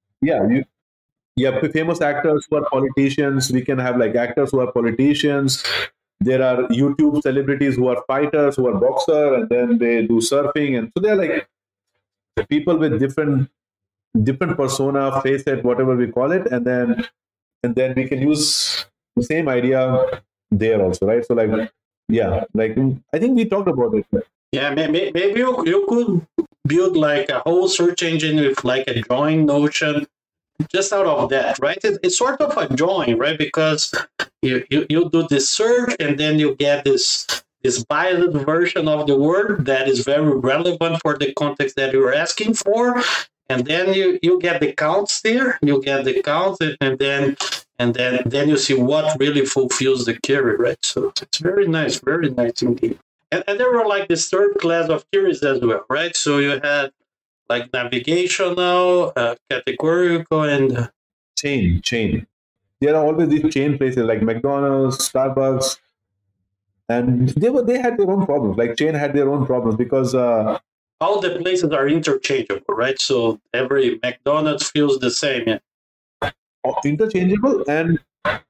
famous actors who are politicians. We can have like actors who are politicians. There are YouTube celebrities who are fighters, who are boxer, and then they do surfing, and so they're like people with different persona, facet, whatever we call it, and then we can use the same idea there also, right? So like, yeah, like I think we talked about it. Yeah, maybe you could build like a whole search engine with like a drawing notion just out of that, right? It's sort of a drawing, right? Because you do this search and then you get this biased version of the word that is very relevant for the context that you're asking for. And then you get the counts there, and then you see what really fulfills the query, right? So it's very nice indeed. And there were like this third class of queries as well, right? So you had like navigational, categorical, and chain. There are always these chain places like McDonald's, Starbucks, and they had their own problems. Like chain had their own problems because all the places are interchangeable, right? So every McDonald's feels the same. Yeah. Interchangeable, and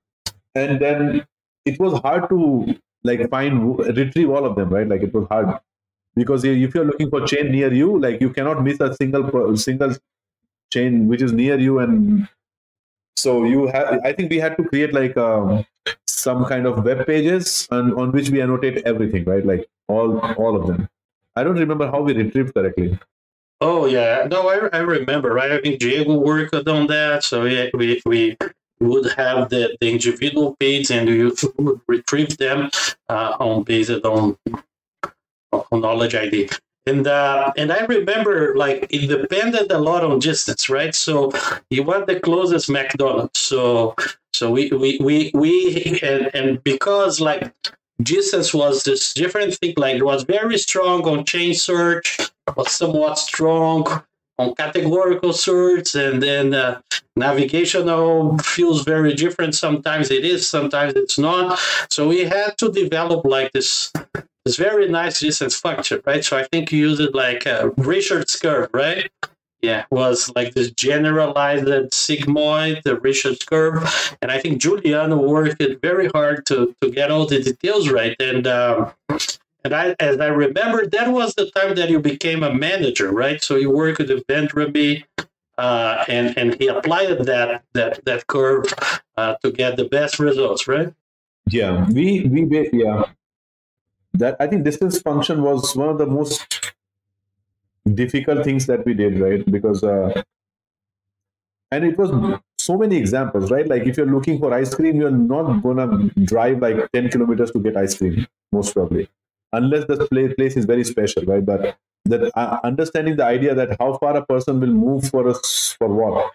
then it was hard to like retrieve all of them, right? Like it was hard because if you're looking for chain near you, like you cannot miss a single chain which is near you, and so I think we had to create like some kind of web pages on which we annotate everything, right? Like all of them. I don't remember how we retrieved correctly. Oh yeah, no, I remember, right? I think Diego worked on that. So yeah, we would have the individual page and you would retrieve them on based on knowledge ID. And I remember like it depended a lot on distance, right? So you want the closest McDonald's. So we and because like distance was this different thing, like it was very strong on chain search, was somewhat strong on categorical search, and then navigational feels very different. Sometimes it is, sometimes it's not. So we had to develop like this very nice distance function, right? So I think you use it like Richard's curve, right? Yeah, was like this generalized sigmoid, the Richard's curve, and I think Giuliano worked it very hard to get all the details right. And as I remember, that was the time that you became a manager, right? So you worked with Vendramy, and he applied that curve to get the best results, right? Yeah, yeah. That I think distance function was one of the most difficult things that we did, right? Because and it was so many examples, right? Like if you're looking for ice cream, you're not gonna drive like 10 kilometers to get ice cream, most probably, unless the place is very special, right? But that understanding the idea that how far a person will move for us for what,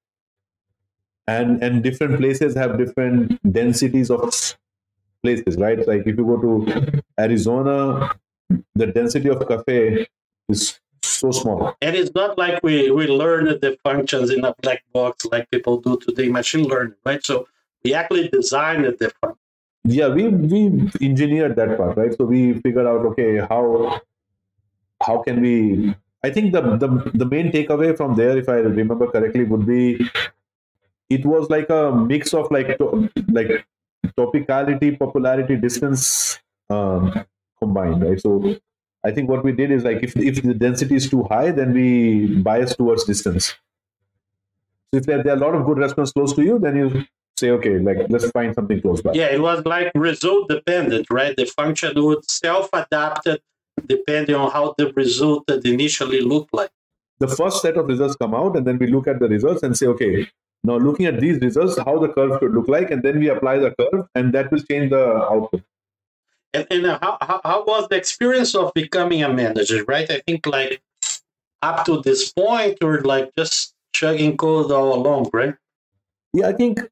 and different places have different densities of places, right? Like if you go to Arizona, the density of cafe is so small. And it's not like we learned the functions in a black box like people do today, machine learning, right? So we actually designed the function. Yeah, we engineered that part, right? So we figured out, okay, how can we? I think the main takeaway from there, if I remember correctly, would be it was like a mix of like topicality, popularity, distance combined, right? So I think what we did is like if the density is too high, then we bias towards distance. So if there are a lot of good restaurants close to you, then you say, okay, like let's find something close by. Yeah, it was like result dependent, right? The function would self-adapt it depending on how the result that initially looked like. The first set of results come out, and then we look at the results and say, okay, now looking at these results, how the curve should look like, and then we apply the curve, and that will change the output. And how was the experience of becoming a manager, right? I think like up to this point, or like just chugging code all along, right? Yeah, I think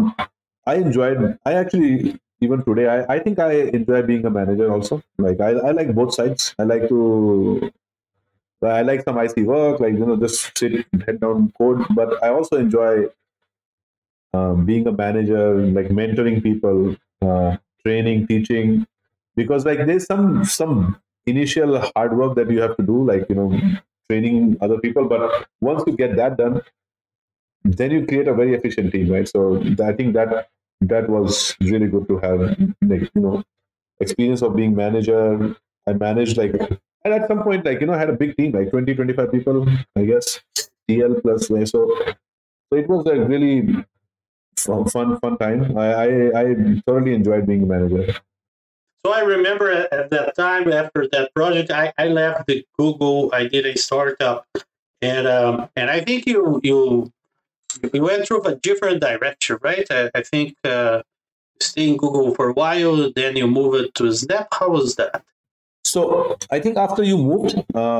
I actually, even today, I think I enjoy being a manager also. Like I like both sides. I like some IC work, like, just sit, head down code, but I also enjoy being a manager, like mentoring people, training, teaching, because like there's some initial hard work that you have to do, like training other people. But once you get that done, then you create a very efficient team, right? So I think that was really good to have, like experience of being manager. I managed like, and at some point, like I had a big team, like 20-25 people, I guess, TL plus. So it was like really fun time. I thoroughly enjoyed being a manager. So I remember at that time after that project, I left the Google. I did a startup, and I think you went through a different direction, right? I think stay in Google for a while, then you move it to Snap. How was that? So I think after you moved,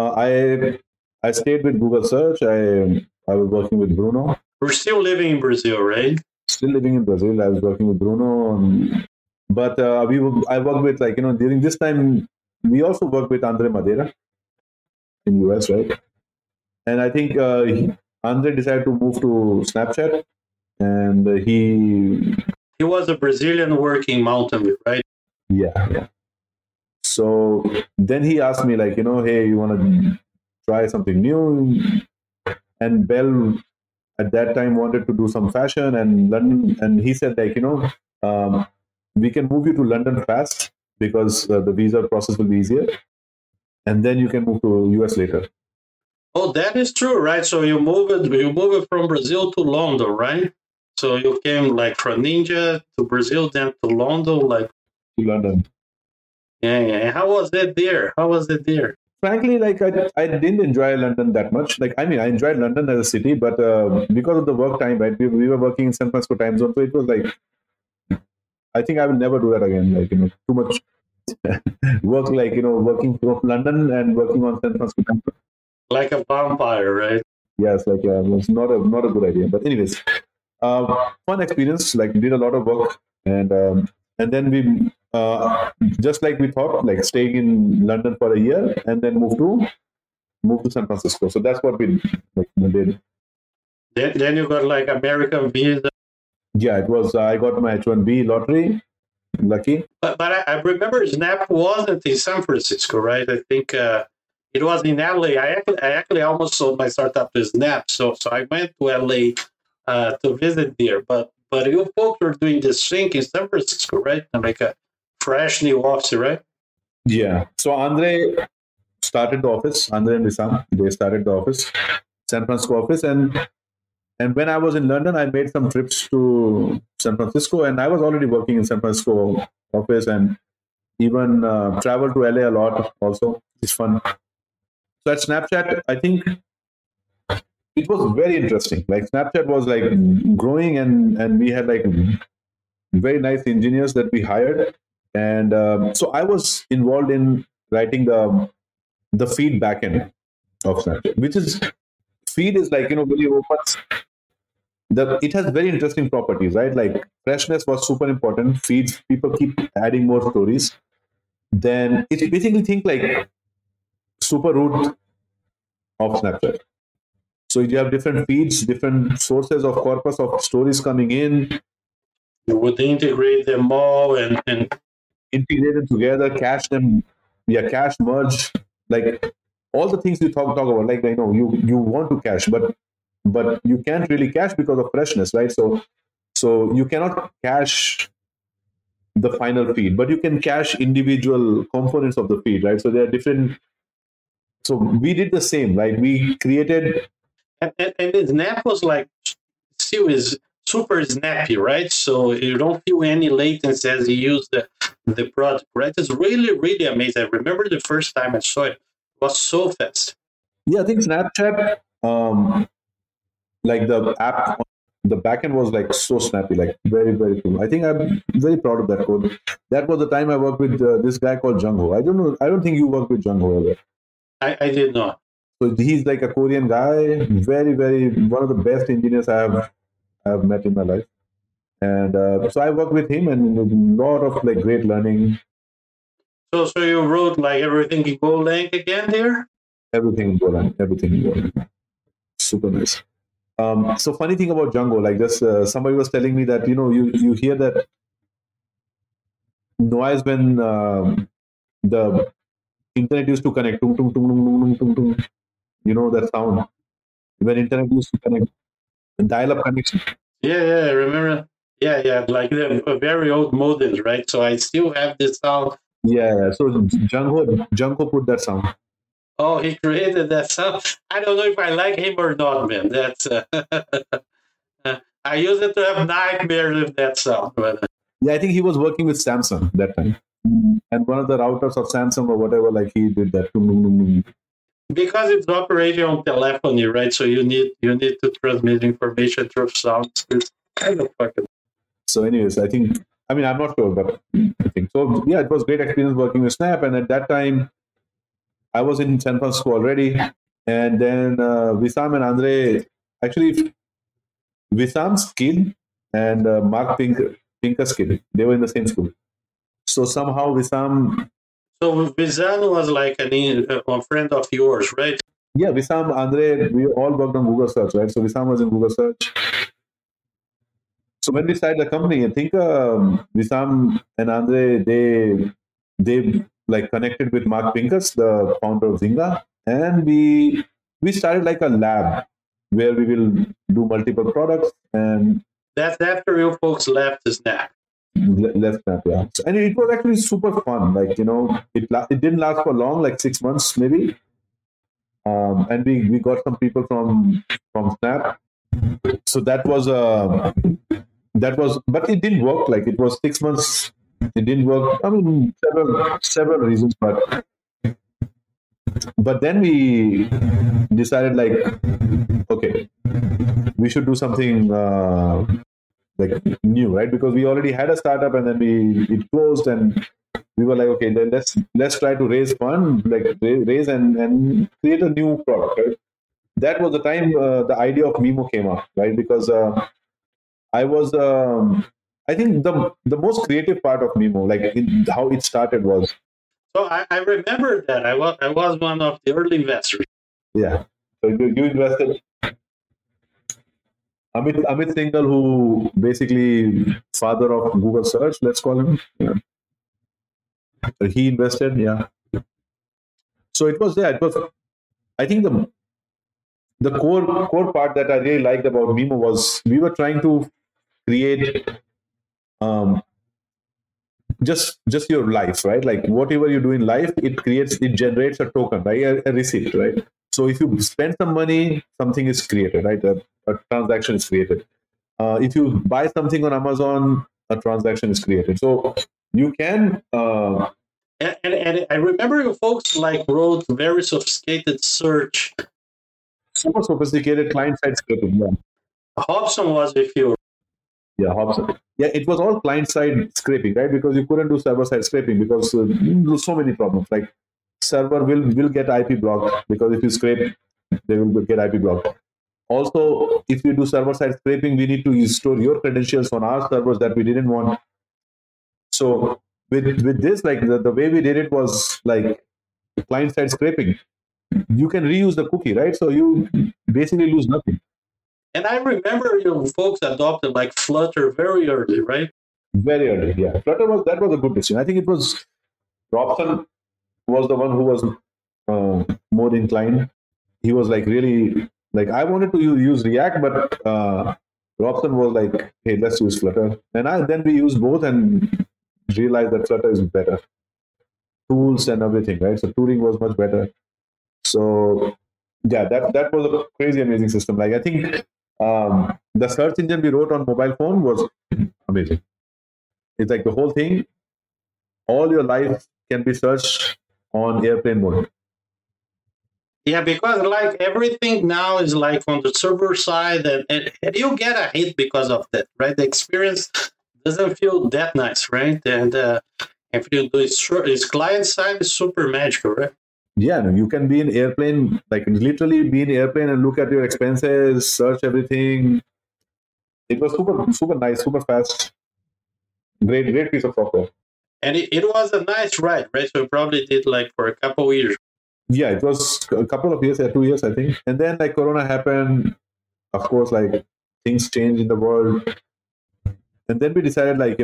I stayed with Google Search. I was working with Bruno. We're still living in Brazil, right? Still living in Brazil. I was working with Bruno, but I worked with, like, during this time we also worked with Andre Madeira in US, right? And I think Andre decided to move to Snapchat, and he was a Brazilian working Mountain View, right? Yeah. So then he asked me, like, hey, you want to try something new? And Bell at that time wanted to do some fashion and London, and he said, like, we can move you to London fast because the visa process will be easier, and then you can move to US later. Oh, that is true, right? So you move it from Brazil to London, right? So you came like from Ninja to Brazil, then to London, like to London. Yeah. How was it there? frankly, like I didn't enjoy London that much. Like I mean, I enjoyed London as a city, but because of the work time, right? We were working in San Francisco time zone, so it was like I think I will never do that again. Like too much work. Like working from London and working on San Francisco time zone. Like a vampire, right? Yes, like it was not a good idea. But anyways, fun experience. Like did a lot of work, and then we just like we thought, like staying in London for a year, and then move to San Francisco. So that's what we did. Then you got like American visa. Yeah, it was. I got my H-1B lottery. Lucky. But I remember Snap wasn't in San Francisco, right? I think it was in LA. I actually almost sold my startup to Snap, so I went to LA to visit there. But you folks were doing this thing in San Francisco, right? And like a fresh new office, right? Yeah. So Andre started the office. Andre and Wissam, they started the office, San Francisco office, and when I was in London, I made some trips to San Francisco, and I was already working in San Francisco office, and even traveled to LA a lot. Also, it's fun. So at Snapchat, I think it was very interesting. Like Snapchat was like growing, and we had like very nice engineers that we hired, and so I was involved in writing the feed backend of Snapchat, which is feed is like really open. It has very interesting properties, right? Like freshness was super important. Feeds, people keep adding more stories. Then it's basically think like super root of Snapchat. So you have different feeds, different sources of corpus of stories coming in. You would integrate them all and integrate them together, cache them, cache, merge, like all the things you talk about. Like you want to cache, but you can't really cache because of freshness, right? So you cannot cache the final feed, but you can cache individual components of the feed, right? So there are different. So we did the same, right? We created, and Snap was like still is super snappy, right? So you don't feel any latency as you use the product, right? It's really amazing. I remember the first time I saw it, it was so fast. Yeah, I think Snapchat, like the app, the backend was like so snappy, like very cool. I think I'm very proud of that code. That was the time I worked with this guy called Jungho. I don't know. I don't think you worked with Jungho ever. I did not. So he's like a Korean guy, very one of the best engineers I have met in my life. And so I worked with him, and a lot of like great learning. So you wrote like everything in Golang again here? Everything in Golang. Super nice. So funny thing about Django, like this, somebody was telling me that you hear that noise when the internet used to connect, tung, tung, tung, tung, tung, tung, tung. That sound when internet used to connect, dial-up connection. Yeah, I remember. Yeah, like the very old modems, right? So I still have this sound. Yeah. So Django put that sound. Oh, he created that sound. I don't know if I like him or not, man. That's I used to have nightmares with that sound. But yeah, I think he was working with Samsung that time, and one of the routers of Samsung or whatever, like he did that. Because it's operating on telephony, right? So you need to transmit information through sound. It's kind of fucking. So, anyways, I'm not sure, but I think so. Yeah, it was great experience working with Snap, and at that time, I was in San Francisco already, and then Wissam and Andre, actually, Wissam's kid and Mark Pinker's kid, they were in the same school. So somehow Wissam. So Wissam was like a friend of yours, right? Yeah, Wissam, Andre, we all worked on Google Search, right? So Wissam was in Google Search. So when we started the company, I think Wissam and Andre, they like connected with Mark Pincus, the founder of Zynga, and we started like a lab where we will do multiple products. And that's after you folks left Snap. Left Snap, yeah. So, and it was actually super fun. Like it didn't last for long, like 6 months maybe. And we got some people from Snap. So that was but it didn't work. Like it was 6 months. It didn't work. I mean, several reasons, but But then we decided like, okay, we should do something like new, right? Because we already had a startup and then it closed, and we were like, okay, then let's try to raise fund, like raise and create a new product, right? That was the time the idea of Mimo came up, right? Because I was, I think the most creative part of Mimo, like how it started was, So I remember that I was one of the early investors. yeah. So you invested. Amit Singhal, who basically father of Google search, let's call him. Yeah. So he invested, yeah. So it was there. It was, I think the core part that I really liked about Mimo was we were trying to create um, just your life, right? Like whatever you do in life, it generates a token, right? A receipt, right? So if you spend some money, something is created, right? A transaction is created. If you buy something on Amazon, a transaction is created. So you can. And I remember you folks like wrote very sophisticated search. Super sophisticated client-side scraping. Yeah, Hobson was with you. yeah, Hobson. Yeah, it was all client-side scraping, right? Because you couldn't do server-side scraping because so many problems. Like server will get IP blocked because if you scrape, they will get IP blocked. Also, if you do server-side scraping, we need to store your credentials on our servers that we didn't want. So with this, like the way we did it was like client-side scraping. You can reuse the cookie, right? So you basically lose nothing. And I remember you folks adopted like Flutter very early, right? Very early, yeah. Flutter was a good decision. I think it was Robson was the one who was more inclined. He was like really like I wanted to use React, but Robson was like, hey, let's use Flutter. And then we used both and realized that Flutter is better. Tools and everything, right? So tooling was much better. So yeah, that was a crazy amazing system. Like I think the search engine we wrote on mobile phone was amazing. It's like the whole thing, all your life can be searched on airplane mode. Yeah, because like everything now is like on the server side, and you get a hit because of that, right? The experience doesn't feel that nice, right? And if you do it's client side, it's super magical, right? Yeah, no, you can be in airplane, like literally be in airplane and look at your expenses, search everything. It was super nice, super fast. Great piece of software. And it was a nice ride, right? So we probably did like for a couple of years. Yeah, it was a couple of years, 2 years, I think. And then like Corona happened, of course, like things changed in the world. And then we decided like,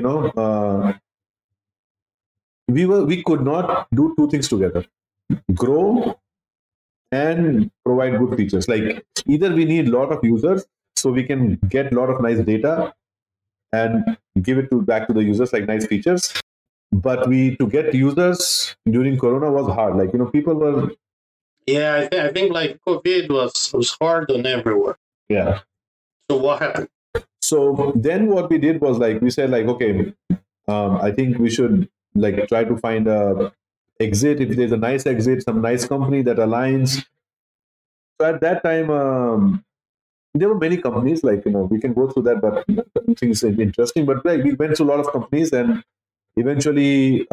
we could not do two things together. Grow and provide good features. Like either we need a lot of users so we can get a lot of nice data and give it back to the users like nice features. But to get users during Corona was hard. Like people were. Yeah, I think like COVID was hard on everyone. Yeah. So what happened? So then what we did was like we said like okay, I think we should like try to find a exit if there's a nice exit, some nice company that aligns. So at that time, there were many companies like we can go through that, but things are interesting. But like we went to a lot of companies and eventually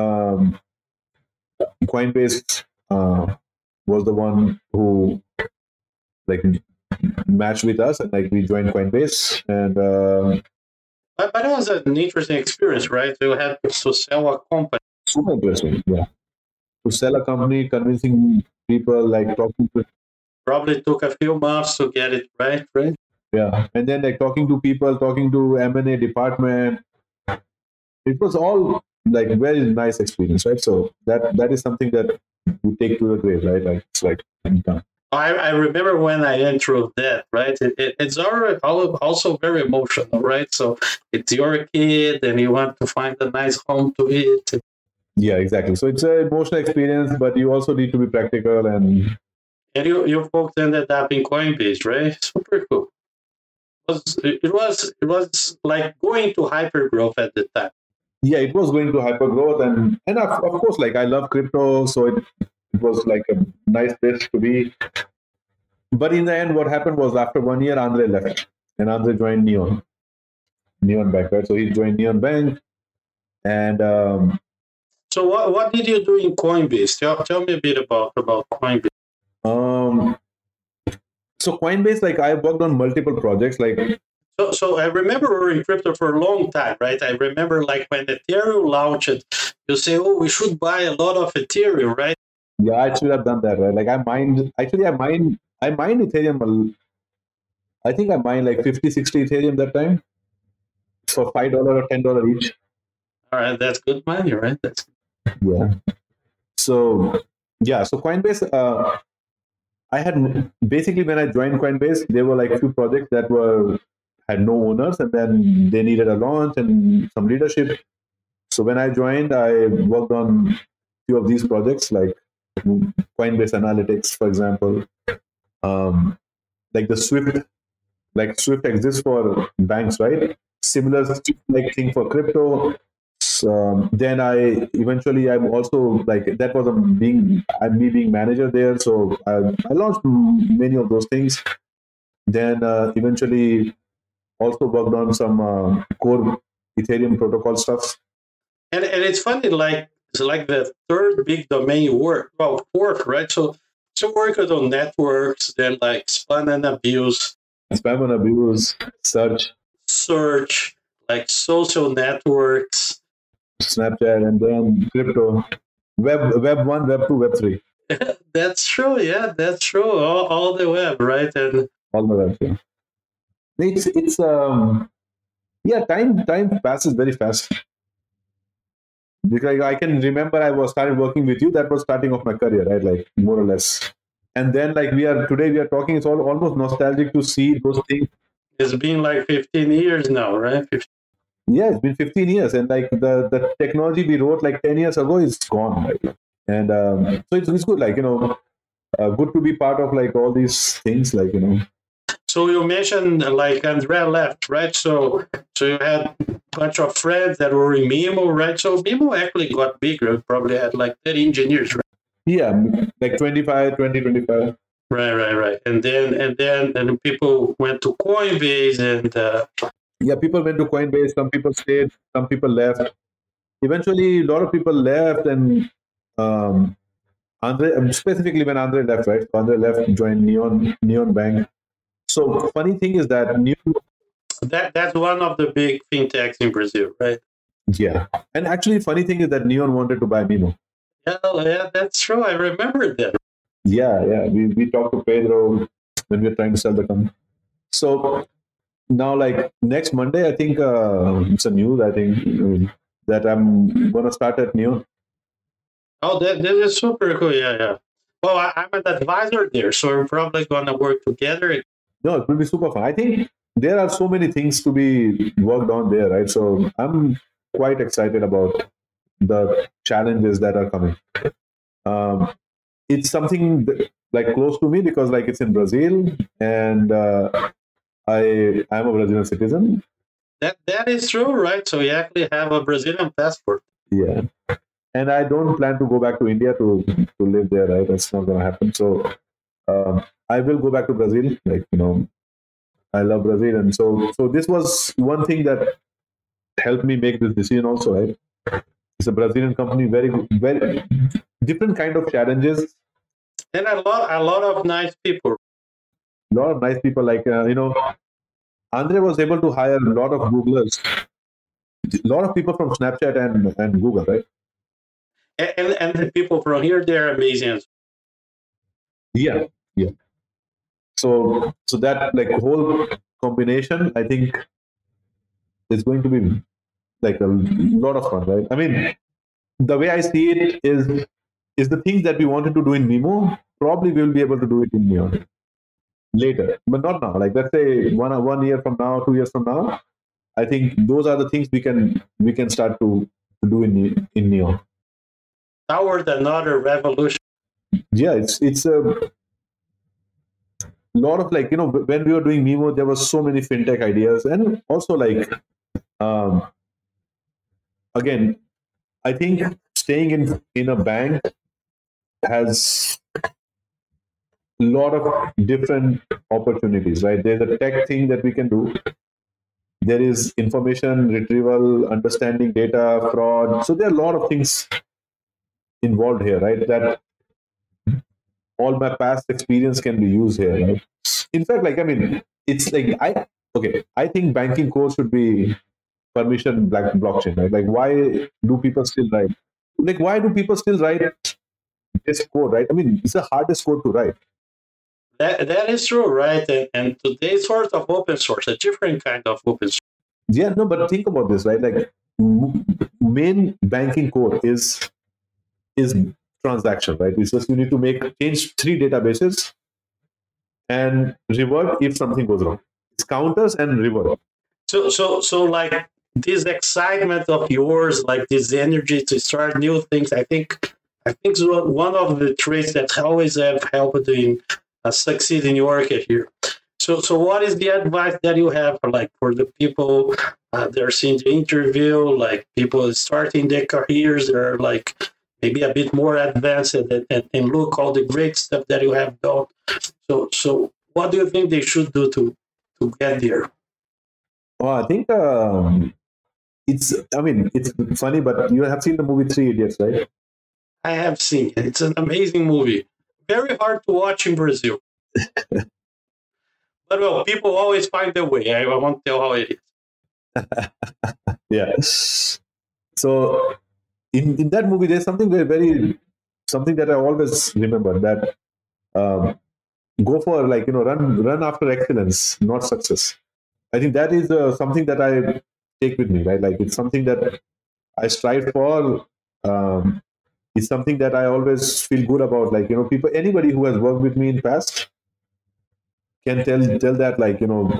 Coinbase was the one who like matched with us and like we joined Coinbase and but it was an interesting experience, right? You had to sell a company. super interesting, yeah. To sell a company, convincing people, like talking to. Probably took a few months to get it right? Yeah, and then like talking to people, talking to M&A department. It was all like very nice experience, right? So that is something that you take to the grave, right? Like it's like done. I remember when I entered that, right? It's also very emotional, right? So it's your kid and you want to find a nice home to it. Yeah, exactly. So it's an emotional experience, but you also need to be practical and you folks ended up in Coinbase, right? Super cool. It was like going to hyper growth at the time. yeah, it was going to hyper growth and of course like I love crypto, so it it was like a nice place to be. But in the end, what happened was after 1 year, Andre left, and Andre joined Neon Bank, right? So he joined Neon Bank, and So what did you do in Coinbase? Tell me a bit about Coinbase. um, so Coinbase, like I worked on multiple projects, like. So I remember we were in crypto for a long time, right? I remember like when Ethereum launched, you say, "Oh, we should buy a lot of Ethereum," right? Yeah, I should have done that, right? Like I mined Ethereum. I think I mined like 50, 60 Ethereum that time for $5 or $10 each. All right, that's good money, right? That's Yeah. So Coinbase. I had basically when I joined Coinbase, there were like a few projects that had no owners, and then they needed a launch and some leadership. So when I joined, I worked on a few of these projects, like Coinbase Analytics, for example, like the Swift. Like Swift exists for banks, right? Similar like thing for crypto. So then I'm also like that was me being manager there. So I launched many of those things. Then eventually also worked on some core Ethereum protocol stuff. and it's funny, like it's like the third big domain work, well, fourth, right? So worked on networks, then like spam and abuse, search, like social networks, Snapchat, and then crypto, web 1, web 2, web 3. That's true. Yeah, that's true. All the web, right? And all the web. Yeah. It's yeah. Time passes very fast. Because I can remember I started working with you. That was starting of my career, right? Like more or less. And then like we are talking. It's almost nostalgic to see those things. It's been like 15 years now, right? 15. Yeah, it's been 15 years, and like the technology we wrote like 10 years ago is gone, right? And so it's good, like good to be part of like all these things, like So you mentioned like Andrea left, right? So you had a bunch of friends that were in Mimo, right? So Mimo actually got bigger. It probably had like 30 engineers, right? Yeah, like 25. Right. And then people went to Coinbase and yeah, people went to Coinbase. Some people stayed. Some people left. Eventually, a lot of people left, and Andre, specifically when Andre left, right? So Andre left, joined Neon Bank. So funny thing is that that's one of the big fintechs in Brazil, right? Yeah, and actually, funny thing is that Neon wanted to buy Mimo. Yeah, that's true. I remember that. Yeah. We talked to Pedro when we were trying to sell the company. So now, like next Monday, I think it's a news. I think that I'm gonna start at Neon. Oh, that is super cool. Yeah. Well, I'm an advisor there, so we're probably gonna work together. No, it will be super fun. I think there are so many things to be worked on there, right? So I'm quite excited about the challenges that are coming. It's something like close to me because like it's in Brazil, and I'm a Brazilian citizen. That is true, right? So you actually have a Brazilian passport. Yeah, and I don't plan to go back to India to live there, right? That's not going to happen. So I will go back to Brazil. Like I love Brazil, and so this was one thing that helped me make this decision also, right? It's a Brazilian company, very different kind of challenges, and a lot of nice people. A lot of nice people, like Andre was able to hire a lot of Googlers, a lot of people from Snapchat and Google, right? And the people from here, they're amazing. Yeah. So that like whole combination, I think, is going to be like a lot of fun, right? I mean, the way I see it is the things that we wanted to do in Mimo, probably we'll be able to do it in Neon later, but not now. Like let's say 1 year from now, 2 years from now, I think those are the things we can start to do in Neon. Toward another revolution. Yeah, it's a lot of like when we were doing Mimo, there was so many fintech ideas, and also like again, I think staying in a bank has a lot of different opportunities, right? There's a tech thing that we can do. There is information retrieval, understanding data, fraud. So there are a lot of things involved here, right? That all my past experience can be used here, right? In fact, like, I mean, it's like I think banking core should be permission blockchain, right? Like, why do people still write? Like, why do people still write this code, right? I mean, it's the hardest code to write. That is true, right? And today's sort of open source, a different kind of open source. Yeah, no, but think about this, right? Like, main banking core is transaction, right? It's just you need to change 3 databases and revert if something goes wrong. It's counters and revert. So like this excitement of yours, like this energy to start new things, I think is one of the traits that always have helped in succeed in your career. So what is the advice that you have for the people that are seeing the interview, like people starting their careers, they're like maybe a bit more advanced and look all the great stuff that you have done. So what do you think they should do to get there? I think it's funny, but you have seen the movie Three Idiots, right? I have seen it. It's an amazing movie. Very hard to watch in Brazil. But well, people always find their way. I won't tell how it is. Yeah. So in that movie, there's something something that I always remember, that go for, like, run after excellence, not success. I think that is something that I take with me, right? Like, it's something that I strive for. It's something that I always feel good about. Like, anybody who has worked with me in past can tell that, like,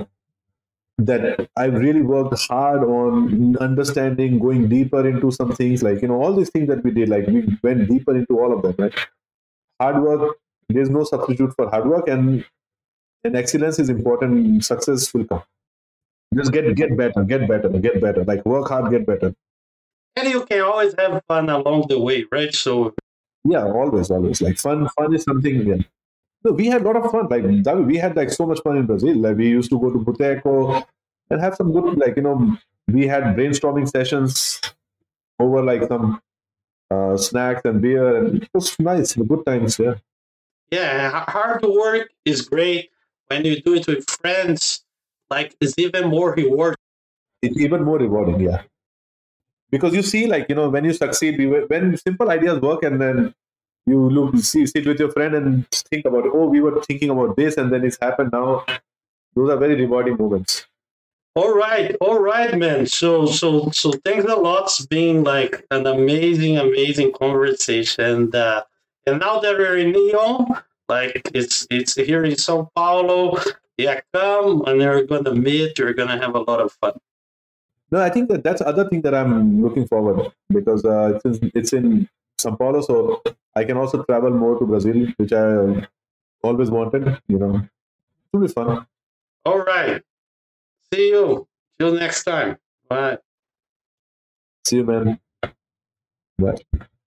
that I've really worked hard on understanding, going deeper into some things, like, all these things that we did, like, we went deeper into all of them, right? Hard work, there's no substitute for hard work, and excellence is important. Success will come. Just get better. Like, work hard, get better. And you can always have fun along the way, right? So yeah, always. Like, fun is something. Yeah. No, we had a lot of fun. Like, we had like so much fun in Brazil. Like, we used to go to Boteco and have some good, like, we had brainstorming sessions over like some snacks and beer, and it was nice. Good times. Yeah. Yeah, hard work is great. When you do it with friends, like, it's even more rewarding. It's even more rewarding. Yeah. Because you see, like, when you succeed, when simple ideas work, and then you sit with your friend and think about, oh, we were thinking about this, and then it's happened now. Those are very rewarding moments. All right, man. So thanks a lot. It's been like an amazing conversation. And now that we're in Lyon, like it's here in São Paulo, yeah, come and we're gonna meet. We're gonna have a lot of fun. No, I think that's the other thing that I'm looking forward, because it's in São Paulo, so I can also travel more to Brazil, which I always wanted. It will be fun. All right. See you. Till next time. Bye. See you, man. Bye.